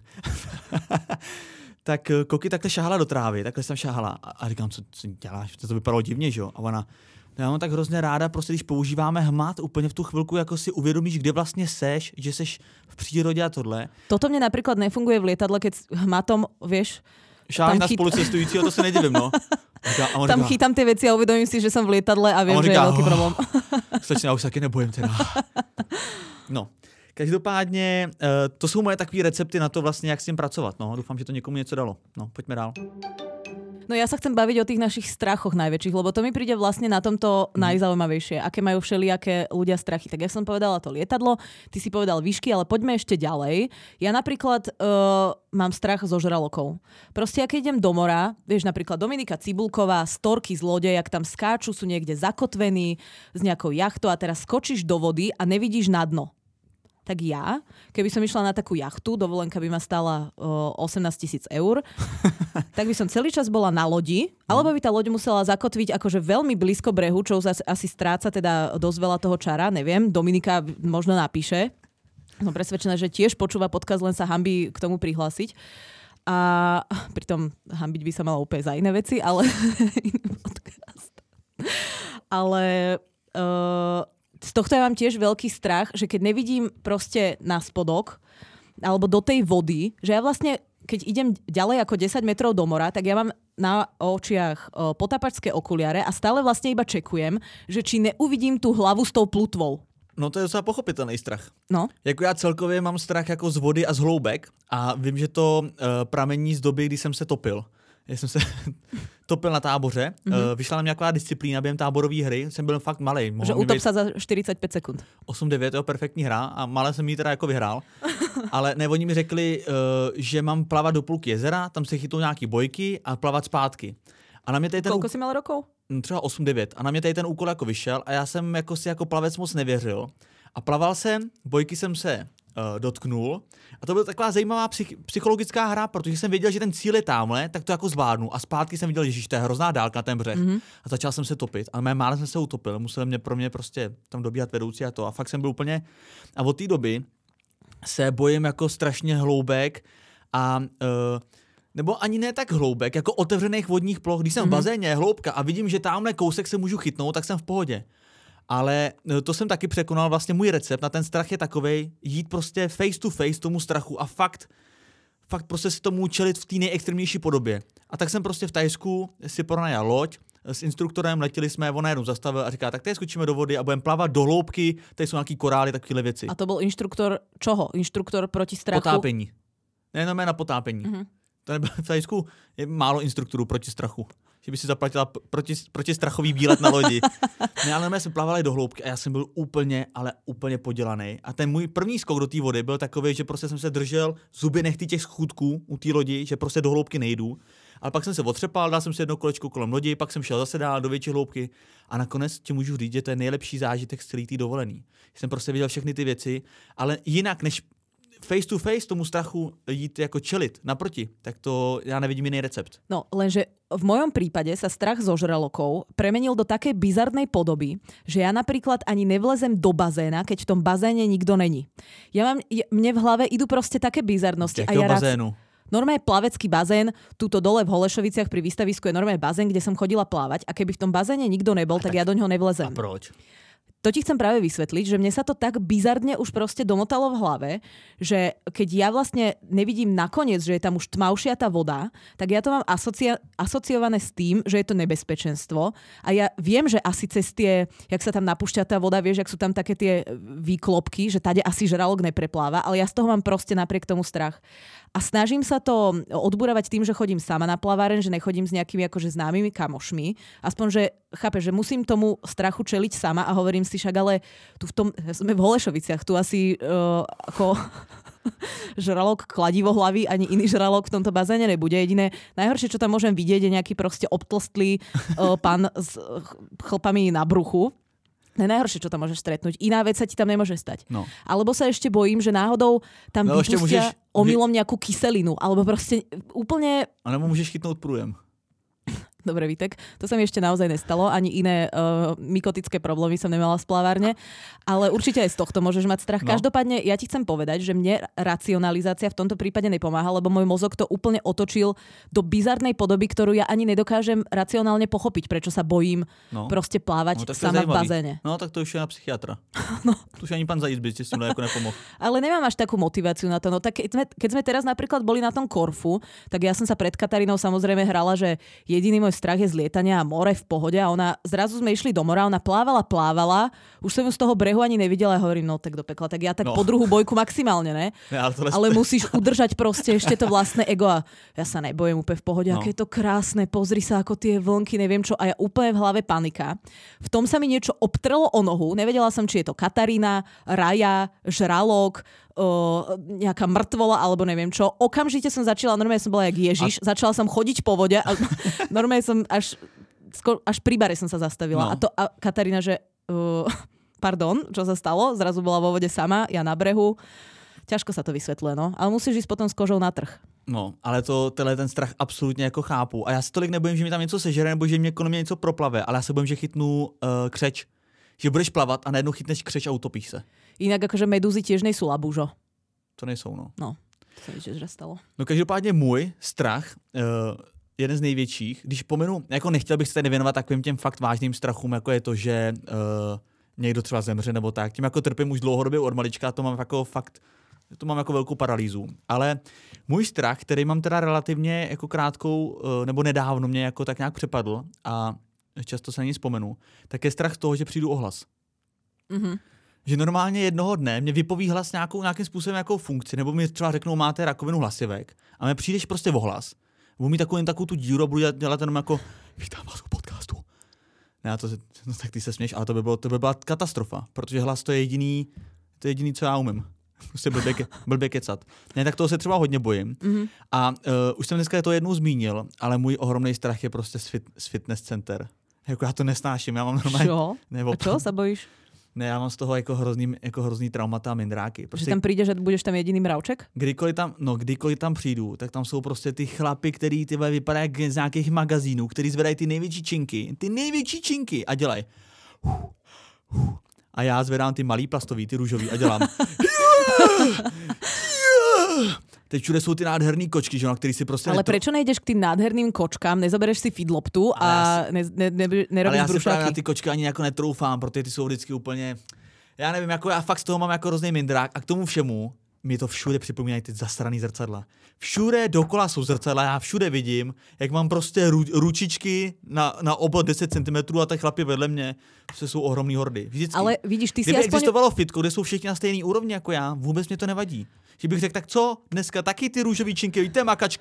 B: Tak Koky takhle šáhala do trávy, takhle jsem šáhala a, a říkám, co, co děláš, to, to vypadalo divně, že jo? A ona, já mám tak hrozně ráda, prostě když používáme hmat, úplně v tu chvilku jako si uvědomíš, kde vlastně seš, že seš v přírodě a tohle.
A: Toto mne napríklad nefunguje v lietadle, keď hmatom, vieš,
B: šáháš na chyt... spolucestujícího, to se nedivím, no. Říká,
A: tam říká, chytám ty věci a uvědomím si, že jsem v lietadle a vím, že říká, je velký problém.
B: Slečně, já už taky nebojím teda. No, každopádně uh, to jsou moje takové recepty na to vlastně, jak s tím pracovat. No, doufám, že to někomu něco dalo. No, pojďme dál.
A: No ja sa chcem baviť o tých našich strachoch najväčších, lebo to mi príde vlastne na tomto mm. najzaujímavejšie, aké majú všelijaké ľudia strachy. Tak ja som povedala to lietadlo, ty si povedal výšky, ale poďme ešte ďalej. Ja napríklad uh, mám strach zo žralokov. Proste, ja keď idem do mora, vieš, napríklad Dominika Cibulková, storky zlodej, jak tam skáču, sú niekde zakotvení s nejakou jachtou a teraz skočíš do vody a nevidíš na dno. Tak ja, keby som išla na takú jachtu, dovolenka by ma stála uh, osemnásť tisíc eur, tak by som celý čas bola na lodi, alebo by tá loď musela zakotviť akože veľmi blízko brehu, čo už asi stráca teda dosť veľa toho čara, neviem, Dominika možno napíše. Som presvedčená, že tiež počúva podcast, len sa hanbí k tomu prihlásiť. A pritom hanbiť by sa mala úplne za iné veci, ale iný podcast. Ale... Uh, z tohto ja mám tiež veľký strach, že keď nevidím proste na spodok alebo do tej vody, že ja vlastne, keď idem ďalej ako desať metrov do mora, tak ja mám na očiach o, potápačské okuliare a stále vlastne iba čekujem, že či neuvidím tú hlavu s tou plutvou.
B: No to je docela pochopitelný strach.
A: No.
B: Jako já celkově mám strach jako z vody a z hloubek a vím, že to uh, pramení z doby, kdy jsem se topil. Já jsem se topil na táboře, mm-hmm. vyšla na mě taková disciplína během táborové hry, jsem byl fakt malej.
A: Že utop sa za štyridsaťpäť sekúnd.
B: osm devět, jo, perfektní hra a malé jsem jí teda jako vyhrál. Ale ne, oni mi řekli, že mám plavat do půlky jezera, tam se chytou nějaký bojky a plavat zpátky. A na mě tady ten
A: Koľko jsi mal rokov?
B: Třeba osm devět. A na mě tady ten úkol jako vyšel a já jsem jako si jako plavec moc nevěřil. A plaval jsem, bojky jsem se uh, dotknul. A to byla taková zajímavá psych- psychologická hra, protože jsem věděl, že ten cíl je tamhle, tak to jako zvládnu. A zpátky jsem viděl, že to je hrozná dálka na ten břeh. Mm-hmm. A začal jsem se topit. A mé mále jsem se utopil. Musel mě pro mě prostě tam dobíhat vedoucí a to. A fakt jsem byl úplně... A od té doby se bojím jako strašně hloubek a... Uh, nebo ani ne tak hloubek, jako otevřených vodních ploch. Když jsem mm-hmm. v bazéně, hloubka a vidím, že tamhle kousek se můžu chytnout, tak jsem v pohodě. Ale to jsem taky překonal, vlastně můj recept na ten strach je takovej, jít prostě face to face tomu strachu a fakt, fakt prostě si tomu čelit v té nejextrémnější podobě. A tak jsem prostě v Thajsku si pronajal loď, s instruktorem letěli jsme, on najednou zastavil a říká, tak tady skočíme do vody a budeme plavat do hloubky, tady jsou nějaký korály, takovéhle věci.
A: A to byl instruktor čoho? Instruktor proti strachu?
B: Potápění. Nejenom na potápění. Mm-hmm. To nebylo, v Thajsku je málo instruktorů proti strachu. že by si zaplatila proti, protistrachový výlet na lodi. Ne, ale my jsme plavali do hloubky a já jsem byl úplně, ale úplně podělaný. A ten můj první skok do té vody byl takový, že prostě jsem se držel zuby nechty těch schůdků u té lodi, že prostě do hloubky nejdu. Ale pak jsem se otřepal, dal jsem si jedno kolečko kolem lodi, pak jsem šel zase dál do větší hloubky a nakonec ti můžu říct, že to je nejlepší zážitek z celé té dovolený. Jsem prostě viděl všechny ty věci, ale jinak než face to face tomu strachu jít jako čelit naproti, tak to ja nevidím iný recept.
A: No, lenže v mojom prípade sa strach zo žralokov premenil do takej bizarnej podoby, že ja napríklad ani nevlezem do bazéna, keď v tom bazéne nikto není. Ja mám, mne v hlave idú proste také bizarnosti.
B: Jakého
A: a ja
B: bazénu?
A: Rád, normálne plavecký bazén, tuto dole v Holešoviciach pri výstavisku je normálne bazén, kde som chodila plávať a keby v tom bazéne nikto nebol, tak, tak ja do ňoho nevlezem.
B: A proč?
A: To ti chcem práve vysvetliť, že mne sa to tak bizarne už proste domotalo v hlave, že keď ja vlastne nevidím nakoniec, že je tam už tmavšia tá voda, tak ja to mám asocia- asociované s tým, že je to nebezpečenstvo a ja viem, že asi cez tie, jak sa tam napúšťa tá voda, vieš, jak sú tam také tie výklopky, že tade asi žralok neprepláva, ale ja z toho mám proste napriek tomu strach. A snažím sa to odburavať tým, že chodím sama na plaváren, že nechodím s nejakými akože známymi kamošmi. Aspoň, že chápeš, že musím tomu strachu čeliť sama a hovorím si však, ale tu v tom, sme v Holešoviciach, tu asi uh, ako žralok kladivo hlavy, ani iný žralok v tomto bazéne nebude. Jediné, najhoršie, čo tam môžem vidieť, je nejaký proste obtlstlý uh, pán s chlpami na bruchu. Najhoršie, čo tam môžeš stretnúť. Iná vec sa ti tam nemôže stať. No. Alebo sa ešte bojím, že náhodou tam no, vypustia môžeš... omylom nejakú kyselinu. Alebo proste úplne...
B: A nebo môžeš chytnúť prújem.
A: Dobre, Vítek, to sa mi ešte naozaj nestalo. Ani iné uh, mykotické problémy som nemala v splávárne. Ale určite aj z tohto môžeš mať strach. No. Každopádne, ja ti chcem povedať, že mne racionalizácia v tomto prípade nepomáha, lebo môj mozog to úplne otočil do bizarnej podoby, ktorú ja ani nedokážem racionálne pochopiť, prečo sa bojím no. proste plávať no, sama v bazéne.
B: No tak to už je na psychiatra. No. To už ani pán Zajíc by ste s tým ako nepomohol.
A: Ale nemám až takú motiváciu na to. No tak keď sme, keď sme teraz napríklad boli na tom Korfu, tak ja som sa pred Katarínou samozrejme hrala, že jediný môj strach je z lietania a more v pohode a ona, zrazu sme išli do mora, ona plávala, plávala, už som ju z toho brehu ani nevidela a hovorím, no tak do pekla, tak ja tak no. po druhú bojku maximálne, ne? Ja, ale, ale musíš udržať proste ešte to vlastné ego a ja sa nebojím úplne v pohode, no. Aké je to krásne, pozri sa ako tie vlnky, neviem čo a ja úplne v hlave panika. V tom sa mi niečo obtrelo o nohu, nevedela som, či je to Katarína, Raja, žralok, O, nejaká mŕtvola, alebo neviem čo. Okamžite som začala, normálne som bola jak Ježiš, a... začala som chodiť po vode a normálne som až, až pri bare som sa zastavila. No. A to a Katarína, že uh, pardon, čo sa stalo? Zrazu bola vo vode sama, ja na brehu. Ťažko sa to vysvetľuje, no. Ale musíš ísť potom s kožou na trh.
B: No, ale to, tenhle ten strach absolutně jako chápu. A já se tolik nebojím, že mi tam něco sežere, nebo že mě kolem mě něco proplave, ale já se bojím, že chytnu uh, křeč. Že budeš plavat a najednou chytneš křeč a utopíš se.
A: Inak akože medúzy tiež nejsou labúžo.
B: To nejsou, no.
A: No, to sa niečo stalo.
B: No každopádně můj strach, uh, jeden z největších, když pomenu, jako nechtěl bych se tady věnovat takovým těm fakt vážným strachům, jako je to, že uh, někdo třeba zemře nebo tak. Tím jako trpím už dlouhodobě od malička, to mám jako fakt, to mám jako velkou paralýzu. Ale můj strach, který mám teda relativně jako krátkou, uh, nebo nedávno mě jako tak nějak přepadl a často se na ní vzpomenu, tak je strach z toho, že přijdu o hlas.
A: Mhm.
B: Že normálně jednoho dne mě vypoví hlas nějakou, nějakým způsobem nějakou funkci, nebo mi třeba řeknou, máte rakovinu hlasivek a mě přijdeš prostě o hlas. Budu mít takovou, takovou tu díru a budu dělat, dělat jenom jako vítám vás u podcastu. Ne, to, no, tak ty se směš, ale to by, bylo, to by byla katastrofa, protože hlas to je jediný, to je jediný, co já umím. Prostě blbě, ke, blbě kecat. Ne, tak toho se třeba hodně bojím. Mm-hmm. A uh, už jsem dneska to jednou zmínil, ale můj ohromný strach je prostě z, fit, z fitness center. Jako já to nesnáším, já mám normálně...
A: Čo? Nebo, a čo sa bojíš?
B: Ne, já mám z toho jako hrozný, jako hrozný traumata a mindráky.
A: Prostě, že tam přijdeš a budeš tam jediný mravček?
B: Kdykoliv tam, no, kdykoliv tam přijdu, tak tam jsou prostě ty chlapy, který ty vypadají z nějakých magazínů, který zvedají ty největší činky, ty největší činky a dělají. A já zvedám ty malý plastový, ty růžový a dělám. Yeah! Yeah! Teď všude jsou ty nádherný kočky, že, na který si prostě...
A: Ale netro... prečo nejdeš k tým nádherným kočkám, nezobereš si feedloptu a ne, ne, ne, nerobíš
B: brušáky? Ale já si právě na ty kočky ani jako netroufám, protože ty jsou vždycky úplně... Já nevím, jako já fakt z toho mám jako hrozný mindrák a k tomu všemu mi to všude připomínají ty zasraný zrcadla. Všude dokola jsou zrcadla, já všude vidím, jak mám prostě ru, ručičky na, na obod deset centimetrů a ty chlapi vedle mě prostě jsou ohromný hordy. Vždycky.
A: Ale vidíš, ty si
B: Kdyby
A: aspoň...
B: existovalo fitko, kde jsou všichni na stejný úrovni jako já, vůbec mě to nevadí. Že bych řekl, tak co, dneska taky ty růžový činky, víte, makačka.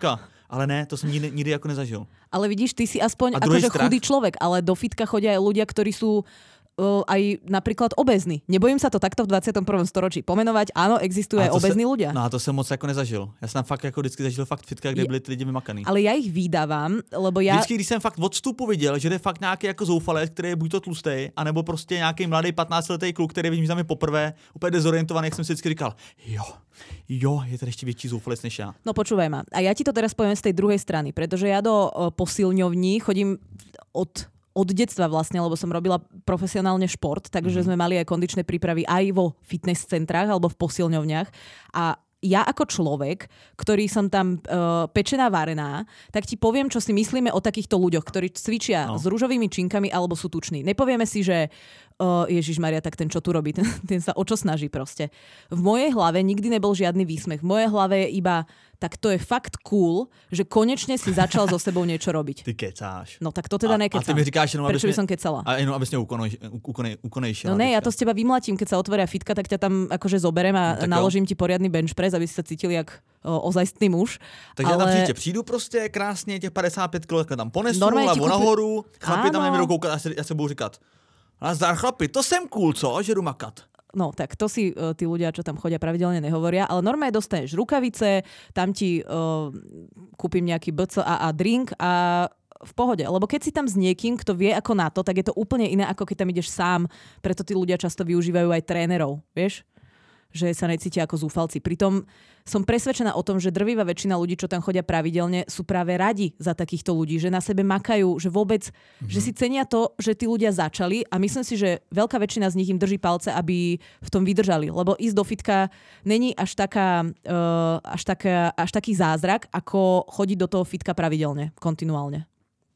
B: Ale ne, to jsem nikdy, nikdy jako nezažil.
A: Ale vidíš, ty si aspoň akože chudý človek, ale do fitka chodia aj ľudia, ktorí sú uh, aj napríklad obézny. Nebojím sa to takto v dvadsiatom prvom storočí pomenovať. Áno, existujú aj obézní
B: se,
A: ľudia.
B: No a to jsem moc jako nezažil. Já jsem fakt jako vždycky zažil fakt fitka, kde je, byli ty lidi vymakaný.
A: Ale já ich vydávam, lebo já...
B: Vždycky, když jsem fakt od vstupu viděl, že je fakt nějaký jako zoufalec, který je buď to tlustý, anebo prostě nějaký mladý patnáctiletý kluk, který vidím, že tam je poprvé, úplně dezorientovaný, jak jsem si vždycky říkal, jo, jo, je tady ještě větší zoufalec než já.
A: No počúvaj ma. A ja ti to teraz poviem z tej druhej strany, pretože ja do uh, posilňovní chodím od od detstva vlastne, lebo som robila profesionálne šport, takže mm-hmm. sme mali aj kondičné prípravy aj vo fitness centrách alebo v posilňovniach. A ja ako človek, ktorý som tam uh, pečená, varená, tak ti poviem, čo si myslíme o takýchto ľuďoch, ktorí cvičia no. s ružovými činkami alebo sú tuční. Nepovieme si, že uh, Ježišmaria, tak ten čo tu robí, ten, ten sa o čo snaží proste. V mojej hlave nikdy nebol žiadny výsmech. V mojej hlave je iba tak to je fakt cool, že konečne si začal so sebou niečo robiť.
B: Ty kecáš.
A: No tak to teda nekecám.
B: A ty mi říkáš jenom,
A: prečo by som kecala?
B: A jenom, abys ukonejšila.
A: No ne, ja to z teba vymlatím, keď sa otvoria fitka, tak ťa tam akože zoberem a no, naložím jo. ti poriadny bench press, aby si sa cítili jak o, ozajstný muž.
B: Takže ale... tam příště přijdu prostě krásně, těch padesát pět kilo tam ponesu, lebo kúpi... nahoru, chlapi tam nebudou koukat a se, a se budou říkat, nazdar chlapi, to jsem cool, co? Že jdu makat.
A: No, tak to si uh, tí ľudia, čo tam chodia, pravidelne nehovoria, ale normálne dostaneš rukavice, tam ti uh, kúpim nejaký bé cé á á drink a v pohode. Lebo keď si tam s niekým, kto vie ako na to, tak je to úplne iné, ako keď tam ideš sám. Preto tí ľudia často využívajú aj trénerov, vieš? Že sa necítia ako zúfalci. Pritom som presvedčená o tom, že drvivá väčšina ľudí, čo tam chodia pravidelne, sú práve radi za takýchto ľudí, že na sebe makajú, že vôbec, mm-hmm. že si cenia to, že tí ľudia začali a myslím si, že veľká väčšina z nich im drží palce, aby v tom vydržali. Lebo ísť do fitka není až, taká, uh, až, taká, až taký zázrak, ako chodiť do toho fitka pravidelne, kontinuálne.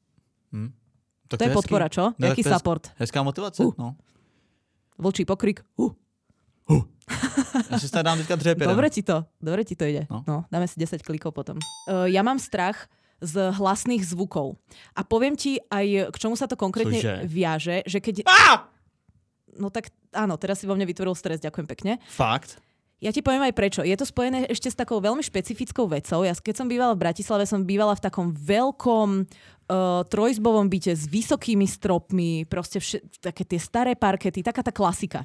B: Hmm. Tak
A: to, to je podpora, čo?
B: No,
A: Jaký support?
B: Hezká motivace, uh. no.
A: Vlčí pokrik. Uh.
B: Uh. Ja si sa dám teďka dřepěrem.
A: Dobre ti to, dobre ti to ide. No. no dáme si desať klikov potom. Uh, ja mám strach z hlasných zvukov. A poviem ti aj, k čomu sa to konkrétne Cože? viaže, že keď...
B: Ah!
A: No tak áno, teraz si vo mne vytvoril stres, ďakujem pekne.
B: Fakt?
A: Ja ti poviem aj prečo. Je to spojené ešte s takou veľmi špecifickou vecou. Ja keď som bývala v Bratislave, som bývala v takom veľkom uh, trojizbovom byte s vysokými stropmi, proste vš- také tie staré parkety, taká tá klasika.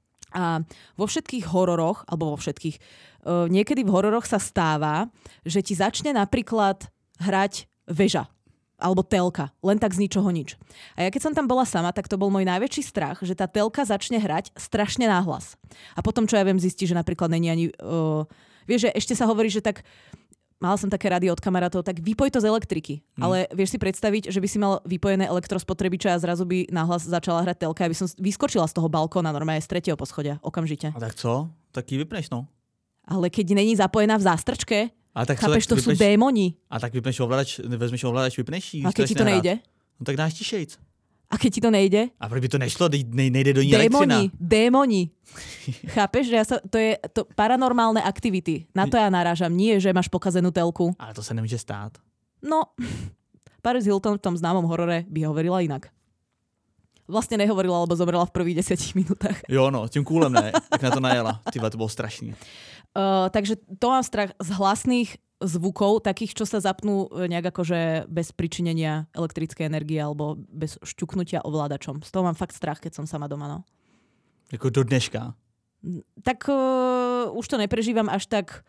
A: A vo všetkých hororoch, alebo vo všetkých, uh, niekedy v hororoch sa stáva, že ti začne napríklad hrať väža alebo telka, len tak z ničoho nič. A ja keď som tam bola sama, tak to bol môj najväčší strach, že tá telka začne hrať strašne náhlas. A potom, čo ja viem, zistí, že napríklad není ani... Uh, vieš, že ešte sa hovorí, že tak... Mala som také rady od kamarátov, tak vypoj to z elektriky. Hmm. Ale vieš si predstaviť, že by si mal vypojené elektrospotrebiče a zrazu by nahlas začala hrať telka, aby som vyskočila z toho balkóna normálne z tretieho poschodia okamžite.
B: A tak co? Tak ji vypneš, no.
A: Ale keď není zapojená v zástrčke,
B: a tak
A: chápeš, to
B: vypneš,
A: sú démoni.
B: A tak vypneš ovladač, vezmeš ovladač, vypneš ji.
A: A keď ti to
B: nehrát.
A: nejde?
B: No tak dáš tišejc.
A: A keď ti to nejde?
B: A proč by to nešlo? Ne, nejde do ní
A: démoni,
B: elektrina.
A: Démoni. Chápeš, že ja sa, to je to paranormálne aktivity. Na to ja narážam. Nie, že máš pokazenú telku.
B: Ale to sa nemôže stát.
A: No, Paris Hilton v tom známom horore by hovorila inak. Vlastne nehovorila, lebo zomrela v prvých desiatich minútach.
B: Jo, no, tím kúlem ne. Tak na to najela. Tyba, to bolo strašný.
A: Uh, takže to mám strach z hlasných zvukov, takých, čo sa zapnú nejak akože bez pričinenia elektrickej energie alebo bez šťuknutia ovládačom. Z toho mám fakt strach, keď som sama doma, no.
B: Jako do dneška?
A: Tak uh, už to neprežívam až tak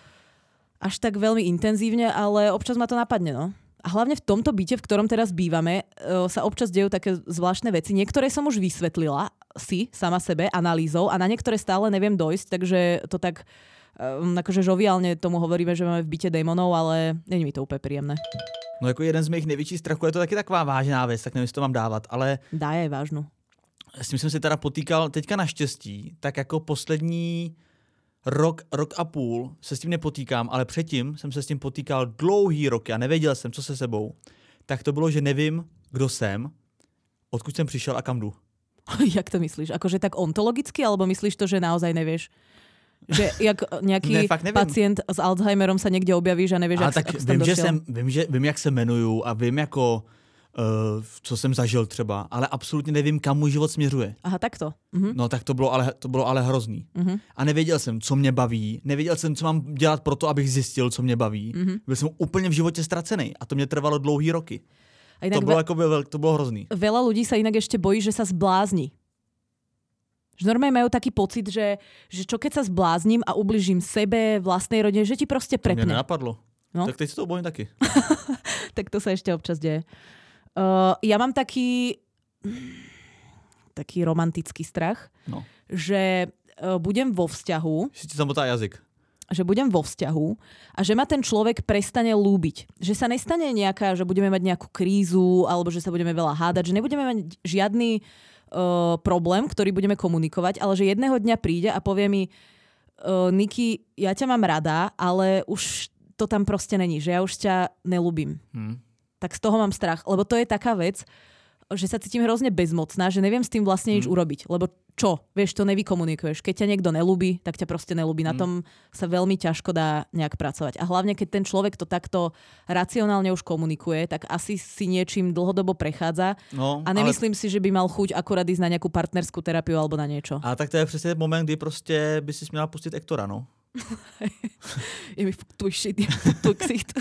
A: až tak veľmi intenzívne, ale občas ma to napadne, no. A hlavne v tomto byte, v ktorom teraz bývame, uh, sa občas dejú také zvláštne veci. Niektoré som už vysvetlila si, sama sebe, analýzou a na niektoré stále neviem dojsť, takže to tak um, akože žoviálne tomu hovoríme, že máme v byte démonov, ale není mi to úplne príjemné.
B: No jako jeden z mých největších strachů je to taky taková vážná věc, tak nevím, jestli to mám dávat, ale...
A: Dá je vážnu.
B: S tím jsem si teda potýkal teďka naštěstí, tak jako poslední rok, rok a půl se s tím nepotýkám, ale předtím jsem se s tím potýkal dlouhý roky a nevěděl jsem, co se sebou. Tak to bylo, že nevím, kdo jsem, odkud jsem přišel a kam jdu.
A: Jak to myslíš? Akože tak ontologicky, alebo myslíš to, že naozaj nevieš? Že jak nejaký ne, pacient s Alzheimerom sa niekde objavíš a nevieš,
B: ale
A: jak,
B: tak
A: jak
B: vím, že jsem, vím, že, vím, jak se jmenuju a vím, jako uh, co jsem zažil třeba, ale absolutně nevím, kam můj život směřuje.
A: Aha, takto. Mhm.
B: No tak to bylo ale, to bylo ale hrozný.
A: Mhm.
B: A nevěděl jsem, co mě baví, nevěděl jsem, co mám dělat pro to, abych zjistil, co mě baví.
A: Mhm.
B: Byl jsem úplně v životě ztracený a to mě trvalo dlouhý roky.
A: A inak
B: To bylo,
A: ve-
B: jako, veľ- to bylo hrozný.
A: veľa ľudí sa inak ešte bojí, že sa zblázni. Že normálne majú taký pocit, že, že čo keď sa zblázním a ubližím sebe, vlastnej rodine, že ti proste
B: To mě
A: prepne.
B: nenapadlo.
A: No.
B: Tak teď se to bojím taky.
A: Tak to sa ešte občas deje. Uh, ja mám taký taký romantický strach,
B: No.
A: že uh, budem vo vzťahu,
B: Že ti zamotá jazyk.
A: že budem vo vzťahu a že ma ten človek prestane lúbiť. Že sa nestane nejaká, že budeme mať nejakú krízu alebo že sa budeme veľa hádať, že nebudeme mať žiadny uh, problém, ktorý budeme komunikovať, ale že jedného dňa príde a povie mi uh, Niky, ja ťa mám rada, ale už to tam proste není, že ja už ťa nelúbim.
B: Hm.
A: Tak z toho mám strach, lebo to je taká vec, že sa cítim hrozne bezmocná, že neviem s tým vlastne nič
B: Hmm.
A: urobiť. Lebo čo? Vieš, to nevykomunikuješ. Keď ťa niekto nelúbi, tak ťa proste nelúbi. Na tom sa veľmi ťažko dá nejak pracovať. A hlavne, keď ten človek to takto racionálne už komunikuje, tak asi si niečím dlhodobo prechádza.
B: No,
A: A nemyslím si, že by mal chuť akurát ísť na nejakú partnerskú terapiu alebo na niečo.
B: ale... A tak to je přesně moment, kdy prostě by si měla pustit Ektora, no.
A: Je mi fuck tvoj shit, je fuck tvoj ksicht.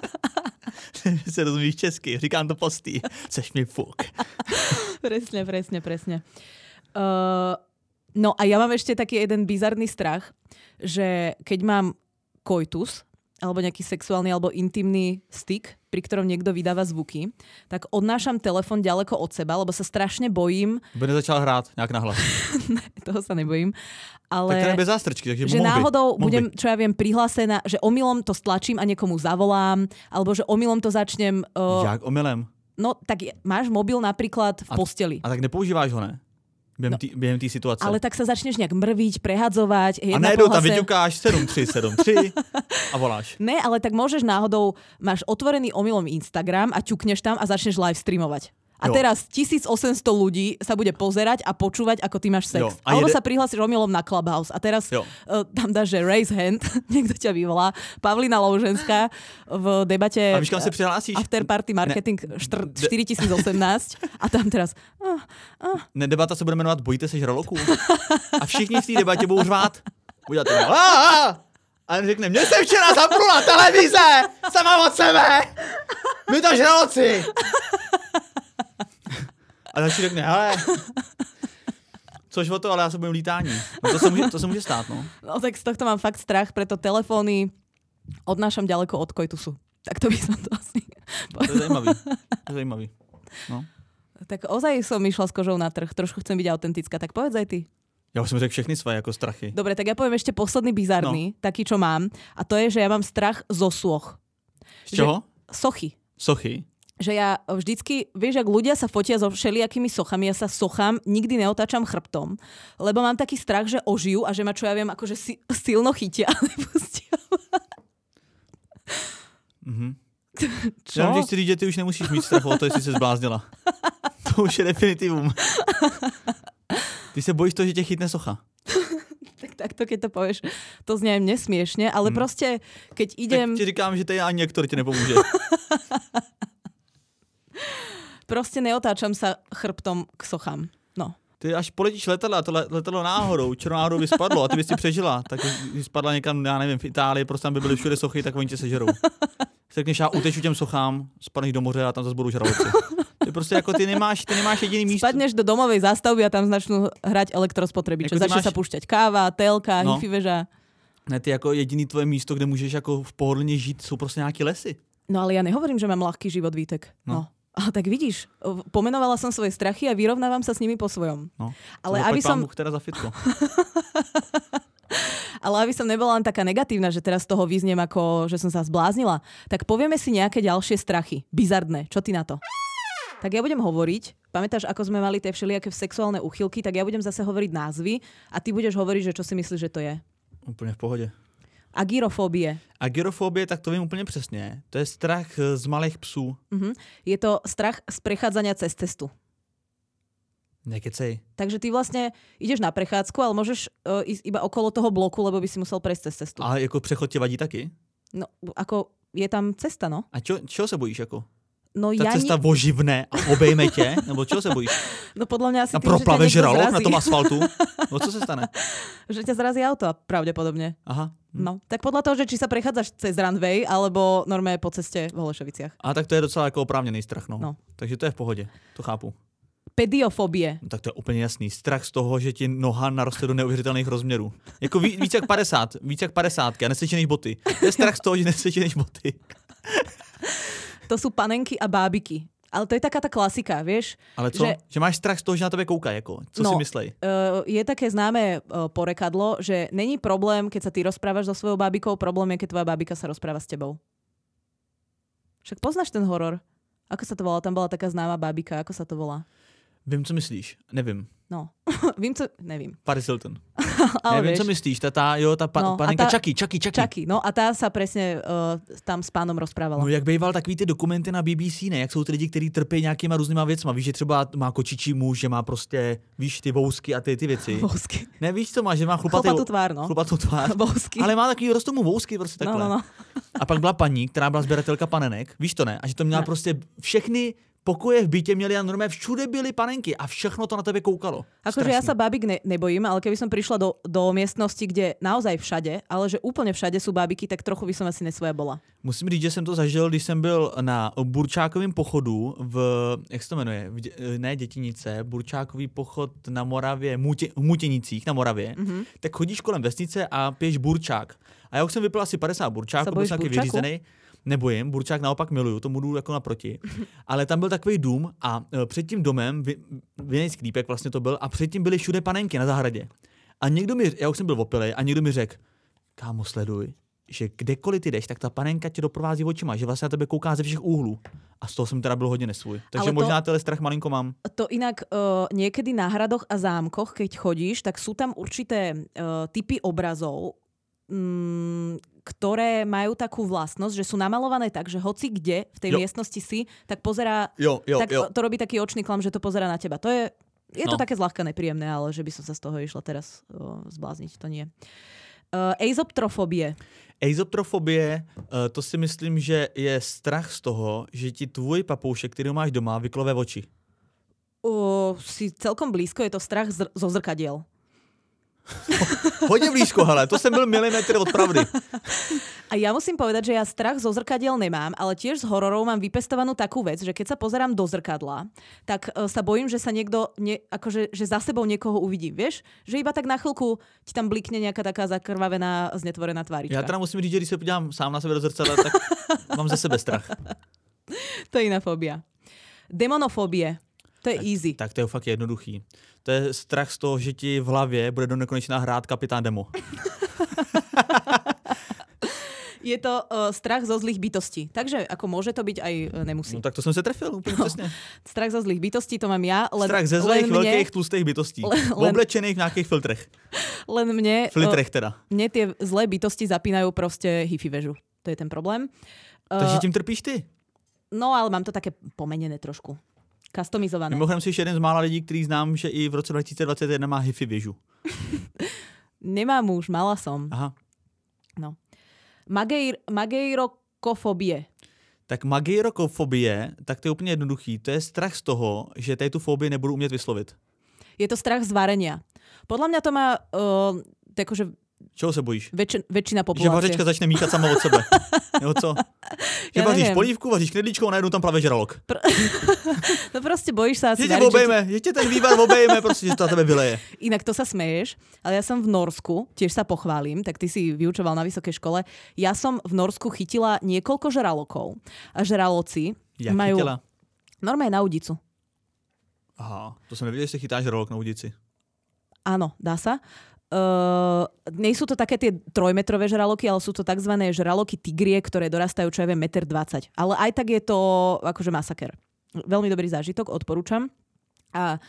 B: Se rozumíš česky, říkám to postý. Seš mi fuk.
A: Presne, presne, presne. Uh, no a ja mám ešte taký jeden bizarný strach, že keď mám koitus, alebo nejaký sexuálny alebo intimný styk, pri ktorom niekto vydáva zvuky, tak odnášam telefon ďaleko od seba, lebo sa strašne bojím.
B: By nezačal hrát nějak nahlas.
A: Ne, toho sa nebojím.
B: Ale... Tak to je bez zástrčky, takže
A: že
B: mohl by.
A: náhodou
B: Mohl
A: budem,
B: by.
A: čo ja viem, prihlásená, že omylom to stlačím a niekomu zavolám, alebo že omylom to začnem... Uh,
B: Jak omylem?
A: no tak je- máš mobil napríklad v
B: A-
A: posteli.
B: A tak nepoužíváš ho, ne? Během tý- během té situace.
A: Ale tak sa začneš nejak mrviť, prehadzovať.
B: A
A: jedna
B: najednou tam
A: pohľase-
B: vyťukáš sedm tři sedm tři a voláš.
A: Ne, ale tak môžeš náhodou, máš otvorený omylom Instagram a ťukneš tam a začneš live streamovať. A
B: Jo.
A: teraz tisícosemsto ľudí sa bude pozerať a počúvať, ako ty máš sex.
B: Jo. A
A: Alebo
B: jede-
A: sa prihlásiš omylom na Clubhouse a teraz
B: Jo.
A: uh, tam dáš, že raise hand, niekto ťa vyvolá. Pavlína Louženská v debate
B: A víš, kam se přihlásíš?
A: After Party Marketing štr- štyritisíc osemnásť a tam teraz uh, uh,
B: Ne, debata se bude jmenovat Bojíte se žraloků. A všichni v té debatě budou řvát. Uděláte to. A, a, a řekne, mě se včera zapnula televize, sama od sebe. My to žraloci. A další řekne, hele, což o to, ale já se bojím lítání. No to se může, to se může stát, no.
A: no tak z tohto mám fakt strach, preto telefóny odnášam ďaleko od koitusu. Tak to by som to asi...
B: To je zajímavý. To je zajímavý. No.
A: Tak ozaj som išla s kožou na trh, trošku chcem byť autentická, tak povedz aj ty.
B: Já už jsem řekl všechny své jako strachy.
A: Dobre, tak ja poviem ešte posledný bizarný, no. taký, čo mám, a to je, že ja mám strach zo soch.
B: Z čeho?
A: Sochy.
B: Sochy.
A: Že ja vždycky, vieš, ak ľudia sa fotia so všelijakými sochami, ja sa sochám, nikdy neotáčam chrbtom, lebo mám taký strach, že ožijú a že ma, čo ja viem, akože si, silno chytia a nepustia.
B: Mhm.
A: Čo?
B: Já že chci říct, že ty už nemusíš mít strach o to, jestli se zbláznila. To už je definitivum. Ty se bojíš toho, že tě chytne socha.
A: Tak takto, keď to povieš, to znie aj mne smiešne, ale
B: Hmm.
A: proste, keď idem...
B: Tak ti říkám, že to je ani Ektor ti nepomůže.
A: Proste neotáčam sa chrbtom k sochám. No.
B: Ty až poletíš letadlo a to le- letadlo náhodou, černou náhodou by spadlo a ty bys si přežila, tak když spadla někam, já nevím, v Itálii, prostě tam by byly všude sochy, tak oni tě sežerou. Řekneš, já uteču těm sochám, spadneš do moře a tam zase budou žraloci. Ty prostě jako ty nemáš, ty nemáš jediný místo.
A: Spadneš do domovej zástavby a tam začnú hrať elektrospotrebiče.
B: Jako ty
A: Začne
B: máš-
A: sa púšťať káva, telka,
B: No.
A: hifi veža.
B: Ne, ty jako jediný tvoje místo, kde můžeš jako v pohodlně žít, jsou prostě nějaký lesy.
A: No ale ja nehovorím, že mám ľahký život, Vítek. No.
B: No.
A: A tak vidíš, pomenovala som svoje strachy a vyrovnávam sa s nimi po svojom.
B: No.
A: Ale
B: To
A: aby
B: zaplať pán
A: som,
B: Bůh teda za fitko.
A: ale aby som nebola len taká negatívna, že teraz z toho vyzniem ako, že som sa zbláznila, tak povieme si nejaké ďalšie strachy. Bizardné. Čo ty na to? Tak ja budem hovoriť, pamätáš, ako sme mali tie všelijaké sexuálne úchylky, tak ja budem zase hovoriť názvy a ty budeš hovoriť, že čo si myslíš, že to je.
B: Úplně v pohodě.
A: Agyrofóbie.
B: Agyrofobie, tak to vím úplně přesně. To je strach z malých psů.
A: Mhm. Je to strach z prechádzania cez cestu.
B: Nekecej.
A: Takže ty vlastne ideš na prechádzku, ale môžeš uh, ísť iba okolo toho bloku, lebo by si musel prejsť cez cestu.
B: A jako přechod tě vadí taky?
A: No, ako je tam cesta, no.
B: A čo, čeho se bojíš jako?
A: No
B: Ta
A: ja
B: cesta
A: ni...
B: voživne a obejme tě? Nebo čeho se bojíš?
A: No podľa mňa asi
B: Na
A: tým, že ťa
B: proplave
A: niekto
B: žralok
A: zrazí.
B: na tom asfaltu? No co se stane?
A: Že ťa zrazí auto pravdepodobne.
B: Aha. Hm.
A: No, tak podľa toho, že či sa prechádzaš cez runway, alebo normálne po ceste v Holešoviciach.
B: A tak to je docela jako oprávněný strach, no.
A: No.
B: Takže to je v pohodě, to chápu.
A: Pediofobie.
B: No, tak to je úplně jasný. Strach z toho, že ti noha naroste do neuvěřitelných rozměrů. Jako ví, víc jak padesát, víc jak padesátky a nesečených boty. To je strach z toho, že nesečených boty.
A: To sú panenky a bábiky. Ale to je taká tá klasika, vieš?
B: Ale co?
A: Že,
B: že máš strach z toho, že na tebe koukají, jako. Co
A: no,
B: si myslej?
A: Uh, je také známe uh, porekadlo, že není problém, keď sa ty rozprávaš so svojou bábikou, problém je, keď tvoja bábika sa rozpráva s tebou. Však poznáš ten horor? Ako sa to volá? Tam bola taká známa bábika. Ako sa to volá?
B: Vím, co myslíš. Nevím.
A: No, vím, co... Nevím.
B: Paris Hilton.
A: Ale
B: Nevím,
A: vieš,
B: co myslíš. Ta, tá, jo, ta pa,
A: No, a
B: panenka
A: tá-
B: Chucky, Chucky, Chucky.
A: Čaky. No a tá sa presne uh, tam s pánom rozprávala.
B: No jak býval takový ty dokumenty na B B C, ne? Jak jsou ty lidi, kteří trpí nějakýma různýma věcma. Víš, že třeba má kočičí muž, že má prostě, víš, ty vousky a ty, ty věci.
A: Vousky.
B: Ne, víš, co má, že má chlupatý,
A: Chlopatú tvár, no.
B: chlupatou tvář.
A: Vousky.
B: Ale má takový, rostou mu vousky prostě
A: No,
B: takhle.
A: no, no.
B: A pak byla paní, která byla sběratelka panenek, víš to ne? A že to měla
A: Ne.
B: prostě všechny pokoje v bytě měli a normálně všude byly panenky a všechno to na tebe koukalo.
A: Akože ja sa bábik ne, nebojím, ale keby som prišla do, do miestnosti, kde naozaj všade, ale že úplne všade sú bábiky, tak trochu by som asi nesvoja bola.
B: Musím říct, že jsem to zažil, když jsem byl na Burčákovém pochodu v, jak se to jmenuje, v, dě- ne Dětinice, Burčákový pochod na Moravě, Mutě, v Mutěnicích na Moravě, mm-hmm. tak chodíš kolem vesnice a piješ burčák. A já už jsem vypil asi padesát burčáků, byl
A: bojíš
B: jsem taky
A: burčáku?
B: vyřízený. Nebojím, burčák naopak miluju, tomu jdu jako naproti. Ale tam byl takový dům a e, před tím domem, vinej sklípek vlastně to byl, a předtím byly všude panenky na zahradě. A někdo mi, já už jsem byl opilej, a někdo mi řekl, kámo, sleduj, že kdekoliv ty jdeš, tak ta panenka tě doprovází očima, že vlastně na tebe kouká ze všech úhlů. A z toho jsem teda byl hodně nesvůj. Takže
A: Ale to-
B: možná tenhle strach malinko mám.
A: To inak uh, niekedy na hradoch a zámkoch, keď chodíš, tak sú tam určité uh, typy obrazov, mm, ktoré majú takú vlastnosť, že sú namalované tak, že hoci kde v tej
B: Jo.
A: miestnosti si, tak pozerá,
B: Jo, jo,
A: tak
B: jo.
A: to robí taký očný klam, že to pozerá na teba. To je, je to
B: No.
A: také zľahka nepríjemné, ale že by som sa z toho išla teraz uh, zblázniť, to nie. Uh, Eizoptrofobie.
B: Eizoptrofobie, eh, to si myslím, že je strach z toho, že ti tvůj papoušek, který máš doma, vyklove oči.
A: Uh, si celkom blízko, je to strach z, zo zrkadiel.
B: Hodně blízko, hele, to jsem byl milimetr od pravdy.
A: A ja musím povedať, že ja strach zo zrkadiel nemám, ale tiež z hororov mám vypestovanú takú vec, že keď sa pozerám do zrkadla, tak uh, sa bojím, že sa niekto, ne, akože, že za sebou niekoho uvidím, vieš? Že iba tak na chvíľku ti tam blikne nejaká taká zakrvavená, znetvorená tvárička.
B: Já teda musím říct, že když se podívám sám na sebe do zrcadla, tak mám ze sebe strach.
A: To je iná fóbia. Demonofóbie. To je easy.
B: Tak to je fakt jednoduchý. To je strach z toho, že ti v hlavě bude do nekonečna hrát kapitán Demo.
A: Je to uh, strach zo zlých bytostí. Takže ako môže to byť aj uh, nemusí.
B: No tak to jsem se trefil úplně
A: No.
B: přesně.
A: Strach zo zlých bytostí to mám ja. Len,
B: Strach ze
A: len
B: zlých,
A: mne,
B: velkých, tlustých bytostí.
A: Len-
B: Oblečených v nějakých filtrech.
A: len mne, uh,
B: Filtrech teda.
A: mne tie zlé bytosti zapínajú proste hifi väžu. To je ten problém.
B: Takže
A: Uh,
B: tím trpíš ty.
A: no ale mám to také pomenené trošku. Customizované.
B: Mimochodem jsi jeden z mála lidí, který znám, že i v roce dva tisíce dvacet jedna má hifi věžu.
A: Nemám už, mala som.
B: Aha.
A: No. Mageir, mageirokofobie.
B: Tak magirokofobie, tak to je úplně jednoduchý. To je strach z toho, že tady tu fobii nebudu umět vyslovit.
A: Je to strach z varenia. Podľa mňa to má uh, akože
B: Čeho se bojíš?
A: väčši, väčšina
B: Že
A: populácie.
B: vařečka začne míchat sama od sebe. Nebo co? Že
A: Ja
B: vaříš
A: neviem.
B: polívku, vaříš knedlíčkou a najednou tam plave žralok.
A: No proste bojíš sa asi
B: Že tě
A: variť, že
B: obejme, že tě ten vývar obejme, prostě, že to na tebe vyleje.
A: Inak to sa smeješ, ale ja som v Norsku, tiež sa pochválim, tak ty si vyučoval na vysokej škole. Ja som v Norsku chytila niekoľko žralokov. A žraloci
B: Jak
A: majú
B: chytila?
A: normálne na udicu.
B: Aha, to jsem nevěděl, že se chytá žralok na udici.
A: Áno, dá sa. Uh, nie sú to také tie trojmetrové žraloky, ale sú to tzv. Žraloky tigrie, ktoré dorastajú, čo ja viem, jeden dvadsať metra. Ale aj tak je to akože masaker. Veľmi dobrý zážitok, odporúčam. A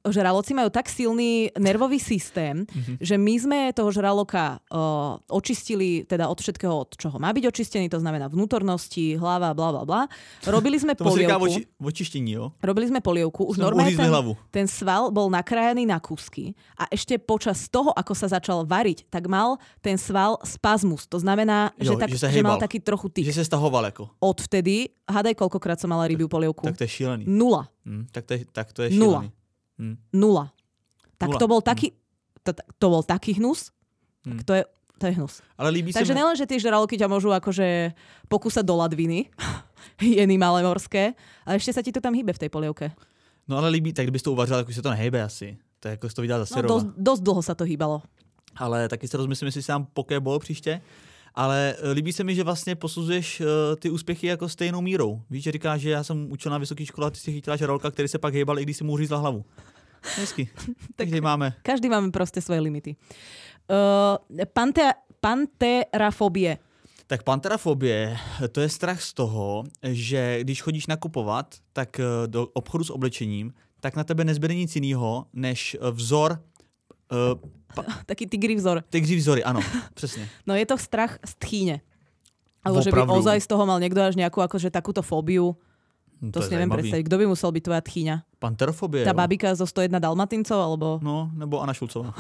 A: žraloci majú tak silný nervový systém, mm-hmm. že my sme toho žraloka uh, očistili teda od všetkého, od čoho má byť očistený, to znamená vnútornosti, hlava, bla bla bla. Robili sme
B: to
A: polievku.
B: Voči, vočištení, jo?
A: Robili sme polievku. Už normálne ten, ten sval bol nakrájaný na kúsky a ešte počas toho, ako sa začal variť, tak mal ten sval spazmus. To znamená,
B: jo,
A: že, tak,
B: že,
A: že mal taký trochu tyk.
B: Že sa stahoval ako.
A: Odvtedy, hádaj, koľkokrát som mala rybiu polievku.
B: Tak to je šílený.
A: Nula.
B: Hmm, tak, to je, tak to je šílený.
A: Nula.
B: Hmm.
A: Nula. Tak
B: Nula.
A: to bol taký, to, to bol taký hnus,
B: hmm.
A: tak to je, to je hnus.
B: Ale líbí
A: Takže
B: sa
A: nelen, že tie žraloky ťa môžu akože pokúsať do ladviny, hyeny malé morské, ale ešte sa ti to tam hýbe v tej polievke.
B: No ale líbí, tak kdybys to uvařil, tak už se to nehejbe asi. To je jako jsi to viděl za
A: No dosť, dosť dlho sa to hýbalo.
B: Ale taky se rozmyslím, jestli sám pokéball příště. Ale líbí se mi, že vlastně posuzuješ uh, ty úspěchy jako stejnou mírou. Víš, že říkáš, že já jsem učil na vysoké škole a ty si chytila žraloka, který se pak hejbal, i když si mu uřízla hlavu. Hezky. Takže máme.
A: Každý máme proste svoje limity. Uh, pante, panterafobie.
B: Tak panterafobie, to je strach z toho, že když chodíš nakupovat, tak do obchodu s oblečením, tak na tebe nezbyde nic jiného, než vzor. Uh, pa-
A: Taký tigri vzor.
B: Tigri vzory, ano, přesně.
A: No je to strach z tchýne. Alebo že by ozaj z toho mal niekto až nejakú akože takúto fóbiu.
B: No,
A: to,
B: to
A: si neviem
B: zajímavý.
A: predstaviť. Kto by musel byť tvoja tchýňa?
B: Panterofobie,
A: Tá
B: jo.
A: babika zo sto jedna Dalmatincov, alebo...
B: No, nebo Anna Šulcová.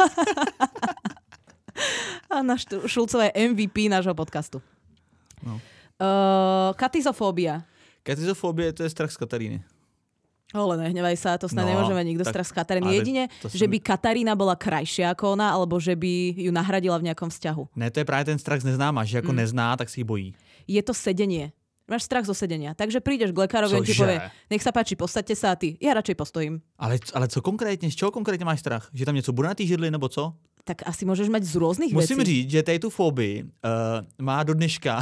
A: Anna Šulcová je em ví pí nášho podcastu.
B: No.
A: Uh, katizofóbia.
B: Katizofobie, to je strach z Kataríny.
A: Ale nehnevaj sa, to snad
B: No,
A: nemôže mať nikto
B: tak,
A: strach z Kataríny. Jedine, že by Katarína bola krajšia ako ona, alebo že by ju nahradila v nejakom vzťahu.
B: Ne, to je právě ten strach z neznáma, že jako
A: Mm.
B: nezná, tak si ji bojí.
A: Je to sedenie. Máš strach zo sedenia. Takže prídeš k lekárovi, on ti
B: Cože?
A: povie, nech sa páči, postaďte sa a ty. Ja radšej postojím.
B: Ale, ale co konkrétně, z čeho konkrétně máš strach? Že tam něco bude na té židli, nebo co?
A: Tak asi môžeš mať z rôznych
B: Musím
A: vecí.
B: říct, že tady tu fobii uh, má do dneška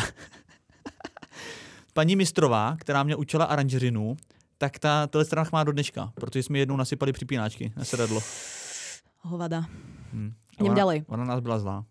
B: paní Mistrová, která mě učila aranžerinu, tak ta, tenhle strach má do dneška, protože jsme jednou nasypali připínáčky na sedadlo.
A: Hovada.
B: Hmm.
A: Idem
B: ona,
A: ďalej.
B: Ona nás byla zlá.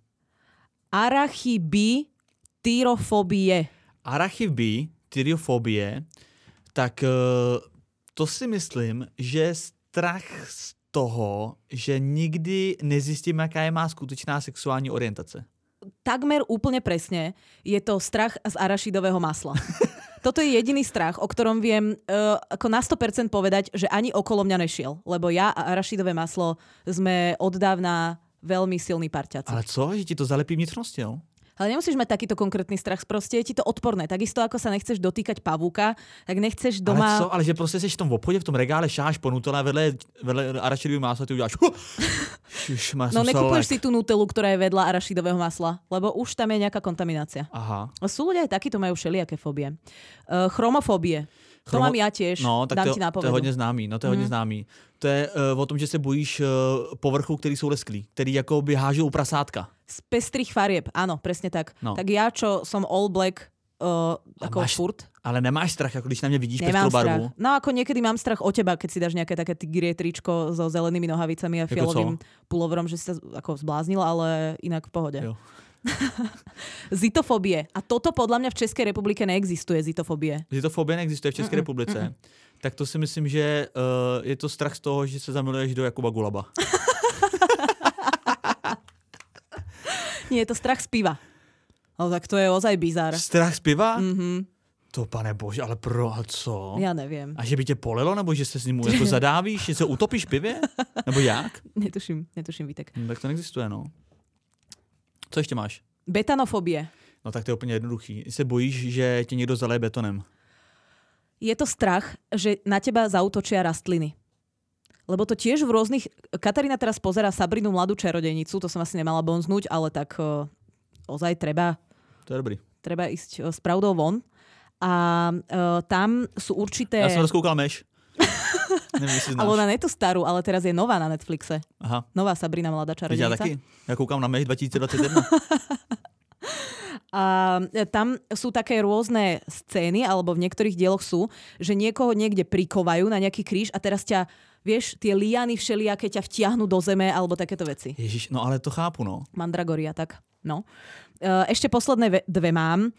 A: Arachibityrofobie.
B: Arachibie, tyriofobie, tak uh, to si myslím, že strach z toho, že nikdy nezjistím, jaká je má skutečná sexuální orientace.
A: Takmer úplne presne je to strach z arašidového masla. Toto je jediný strach, o ktorom viem uh, ako na sto percent povedať, že ani okolo mňa nešiel. Lebo ja a arašidové maslo sme od dávna veľmi silní parťaci.
B: Ale co? Že ti to zalepí vnitřnosti, jo?
A: Ale nemusíš mať takýto konkrétny strach, proste je ti to odporné. Takisto ako sa nechceš dotýkať pavúka, tak nechceš doma...
B: Ale co? Ale že prostě seš v tom obchodě, v tom regále, šáš po nutele, vedle, vedle arašidového másla, ty uděláš... Už má
A: No nekupuješ si tú nutelu, ktorá je vedľa arašidového masla, lebo už tam je nejaká kontaminácia.
B: Aha.
A: Sú ľudia aj takíto, majú všelijaké fóbie. Uh, chromofóbie. To
B: Chromo...
A: mám ja tiež,
B: no, tak
A: dám
B: to,
A: ti nápovedu.
B: to je hodně známý, no to je mm. hodně známý. To je uh, o tom, že se bojíš uh, povrchů, který jsou lesklí, který jako by hážou u prasátka.
A: Z pestrých farieb, áno, presne tak.
B: No.
A: Tak ja, čo som all black, uh, ako
B: máš,
A: furt.
B: Ale nemáš strach, ako když na mě vidíš
A: Nemám
B: pestrou
A: strach.
B: barvu?
A: No ako niekedy mám strach o teba, keď si dáš nejaké také tigrie tričko so zelenými nohavicami a fialovým pulovrom, že si sa ako zbláznila, ale inak v pohode.
B: Jo.
A: Zitofobie. A toto podľa mňa v Českej republike neexistuje, zitofobie.
B: Zitofobie neexistuje v České mm-mm, republice. Mm-mm. Tak to si myslím, že uh, je to strach z toho, že se zamiluješ do Jakuba Gulaba.
A: Nie, je to strach z piva. No tak to je ozaj bizár.
B: Strach z piva?
A: Mhm.
B: To pane bože, ale pro a co?
A: Ja neviem.
B: A že by tě polilo, nebo že se s ním jako zadávíš, že se utopíš v pivě? Nebo jak?
A: Netuším, netuším, Vítek.
B: No, tak to neexistuje, no. Co ještě máš?
A: Betanofobie.
B: No tak to je úplně jednoduchý. Se bojíš, že tě někdo zaleje betonem.
A: Je to strach, že na teba zaútočia rastliny. Lebo to tiež v rôznych... Katarína teraz pozerá Sabrinu mladú čarodejnicu, to som asi nemala bonznúť, ale tak uh, ozaj treba...
B: To je dobrý.
A: Treba ísť uh, s pravdou von. A uh, tam sú určité...
B: Já jsem rozkoukal Meš. Nevím, jestli znáš.
A: Ale ona nie je tu starú, ale teraz je nová na Netflixe.
B: Aha.
A: Nová Sabrina mladá čarodejnica.
B: Já taky. Já koukám na Meš dva tisíce dvacet jedna.
A: A tam sú také rôzne scény, alebo v niektorých dieloch sú, že niekoho niekde prikovajú na nejaký kríž a teraz ťa, vieš, tie liany všelijaké ťa vtiahnu do zeme, alebo takéto veci.
B: Ježiš, no ale to chápu, no.
A: Mandragoria, tak. No. Ešte posledné dve mám.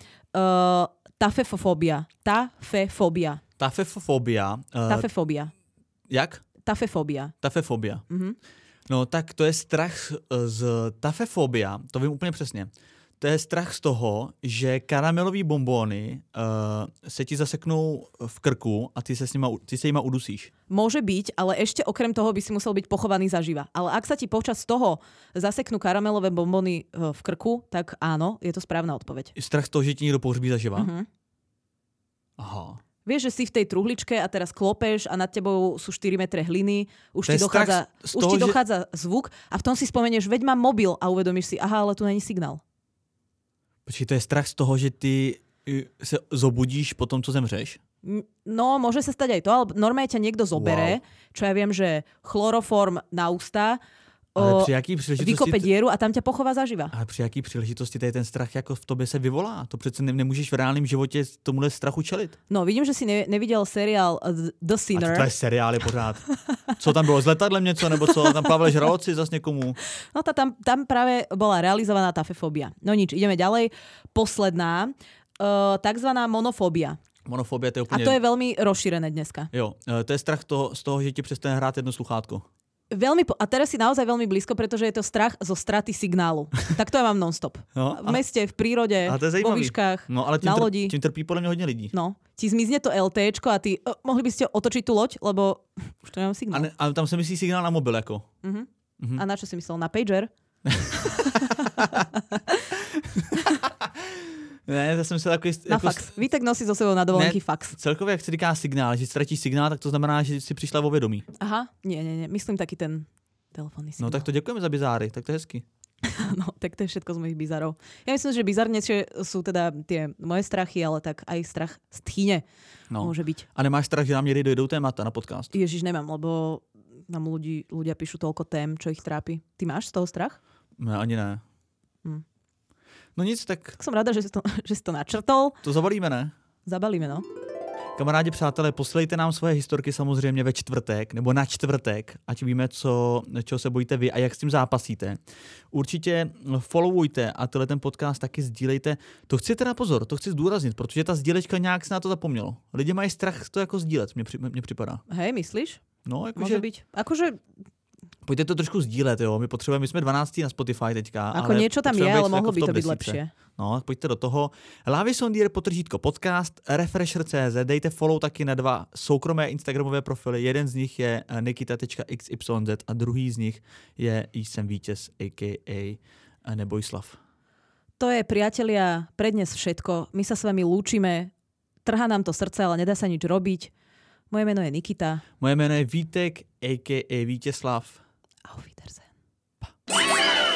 A: Tafefofóbia. Tafefóbia.
B: Tafefofóbia. Uh,
A: Tafefóbia.
B: Jak?
A: Tafefobia.
B: Tafefobia.
A: Mhm.
B: No tak to je strach z tafefobia, to vím úplně přesně. To je strach z toho, že karamelový bonbóny uh, se ti zaseknou v krku a ty se, s nima, ty se jima udusíš.
A: Môže byť, ale ešte okrem toho by si musel byť pochovaný zaživa. Ale ak sa ti počas toho zaseknú karamelové bonbóny v krku, tak áno, je to správna odpoveď.
B: Strach z toho, že ti niekto pohřbí zaživa?
A: Mhm.
B: Aha.
A: Vieš, že si v tej truhličke a teraz klopeš a nad tebou sú štyri metre hliny, už
B: To
A: ti
B: je
A: dochádza,
B: strach z
A: už
B: toho,
A: ti
B: že-
A: dochádza zvuk a v tom si spomenieš, veď mám mobil a uvedomíš si, aha, ale tu není signál.
B: Počkej, to je strach z toho, že ty uh, se zobudíš po tom, co zemřeš?
A: N- No, môže sa stať aj to, ale normálne ťa niekto zobere, čo ja viem, že chloroform na ústa,
B: Ale
A: o,
B: při jaký příležitosti...
A: vykope dieru a tam ťa pochová zaživa.
B: Ale při jaký příležitosti tady ten strach jako v tobě se vyvolá? To přece ne, nemůžeš v reálném životě tomuhle strachu čelit.
A: No, vidím, že si ne- nevidel seriál The
B: A
A: Sinner.
B: to je seriály pořád. Co tam bylo, s letadlem něco, nebo co? Tam Pavel Žraloci zas někomu.
A: No tá, tam, tam práve bola realizovaná tafefóbia. No nič, ideme ďalej. Posledná, uh, takzvaná monofóbia.
B: Monofobie, to je
A: A
B: úplně...
A: to je veľmi rozšírené dneska.
B: Jo, eh, to je strach toho, z toho, že ti přestane hrát jedno sluchátko.
A: Veľmi, po- a teraz si naozaj veľmi blízko, pretože je to strach zo straty signálu. Tak to ja mám non-stop.
B: No,
A: V meste, v prírode,
B: ale to je
A: vo
B: zajímavý.
A: výškach,
B: No, ale tím,
A: na
B: tr-
A: lodi.
B: tím trpí podle mě hodně lidí.
A: No, ti zmizne to LTčko a ty, uh, mohli by ste otočiť tú loď, lebo už to nemám
B: A,
A: signál.
B: ne, a tam se myslí signál na mobil, jako.
A: Uh-huh.
B: Mhm.
A: A na čo si myslel? Na pager?
B: Ne, to jsem se takový...
A: Na
B: jako,
A: fax. Vítek nosí so sebou na dovolenky
B: Ne.
A: fax.
B: Celkově, jak se říká signál, že ztratíš signál, tak to znamená, že jsi přišla o vědomí.
A: Aha, nie, nie, nie. Myslím taký ten telefónny signál.
B: No tak to děkujeme za bizáry, tak to je hezky.
A: No, tak to je všetko z mojich bizarov. Ja myslím, že bizarnejšie sú teda tie moje strachy, ale tak aj strach z tchýne
B: No.
A: môže byť.
B: A nemáš strach, že nám někdy dojdou témata na podcast?
A: Ježiš, nemám, lebo nám ľudí, ľudia píšu toľko tém, čo ich trápi. Ty máš z toho strach?
B: Ne, ani ne.
A: Hm.
B: No nic, tak
A: Tak som rada, že si to, že si to načrtol.
B: to zabalíme, ne?
A: Zabalíme, no.
B: Kamarádi, přátelé, poslejte nám svoje historky samozřejmě ve čtvrtek nebo na čtvrtek, ať víme, co, čeho se bojíte vy a jak s tím zápasíte. Určitě followujte a tenhle ten podcast taky sdílejte. To chci teda pozor, to chci zdůraznit, protože ta sdílečka nějak se na to zapomnělo. Lidi mají strach to jako sdílet, mně, při, mně připadá.
A: Hej, myslíš?
B: No,
A: Môže
B: jakože,
A: byť. Akože,
B: pojďte to trošku sdílet, jo. My potřebujeme, my jsme dvanáctí na Spotify teďka.
A: ako
B: ale
A: niečo tam je,
B: potřebujeme
A: ale
B: být
A: mohlo
B: jako v
A: by to
B: top
A: byť
B: desítce.
A: lepšie.
B: No, pojďte do toho. Lávy Sondier, potržítko podcast, Refresher tečka cé zet, dejte follow taky na dva soukromé instagramové profily. Jeden z nich je nikita tečka iks ypsilon zet a druhý z nich je Jsem vítěz, a ká a Nebojslav.
A: To je, priatelia, pre dnes všetko. My sa s vami lúčime. Trhá nám to srdce, ale nedá sa nič robiť. Moje meno je Nikita.
B: Moje jméno je Vítek, a ká a Vítězslav.
A: Auf Wiedersehen.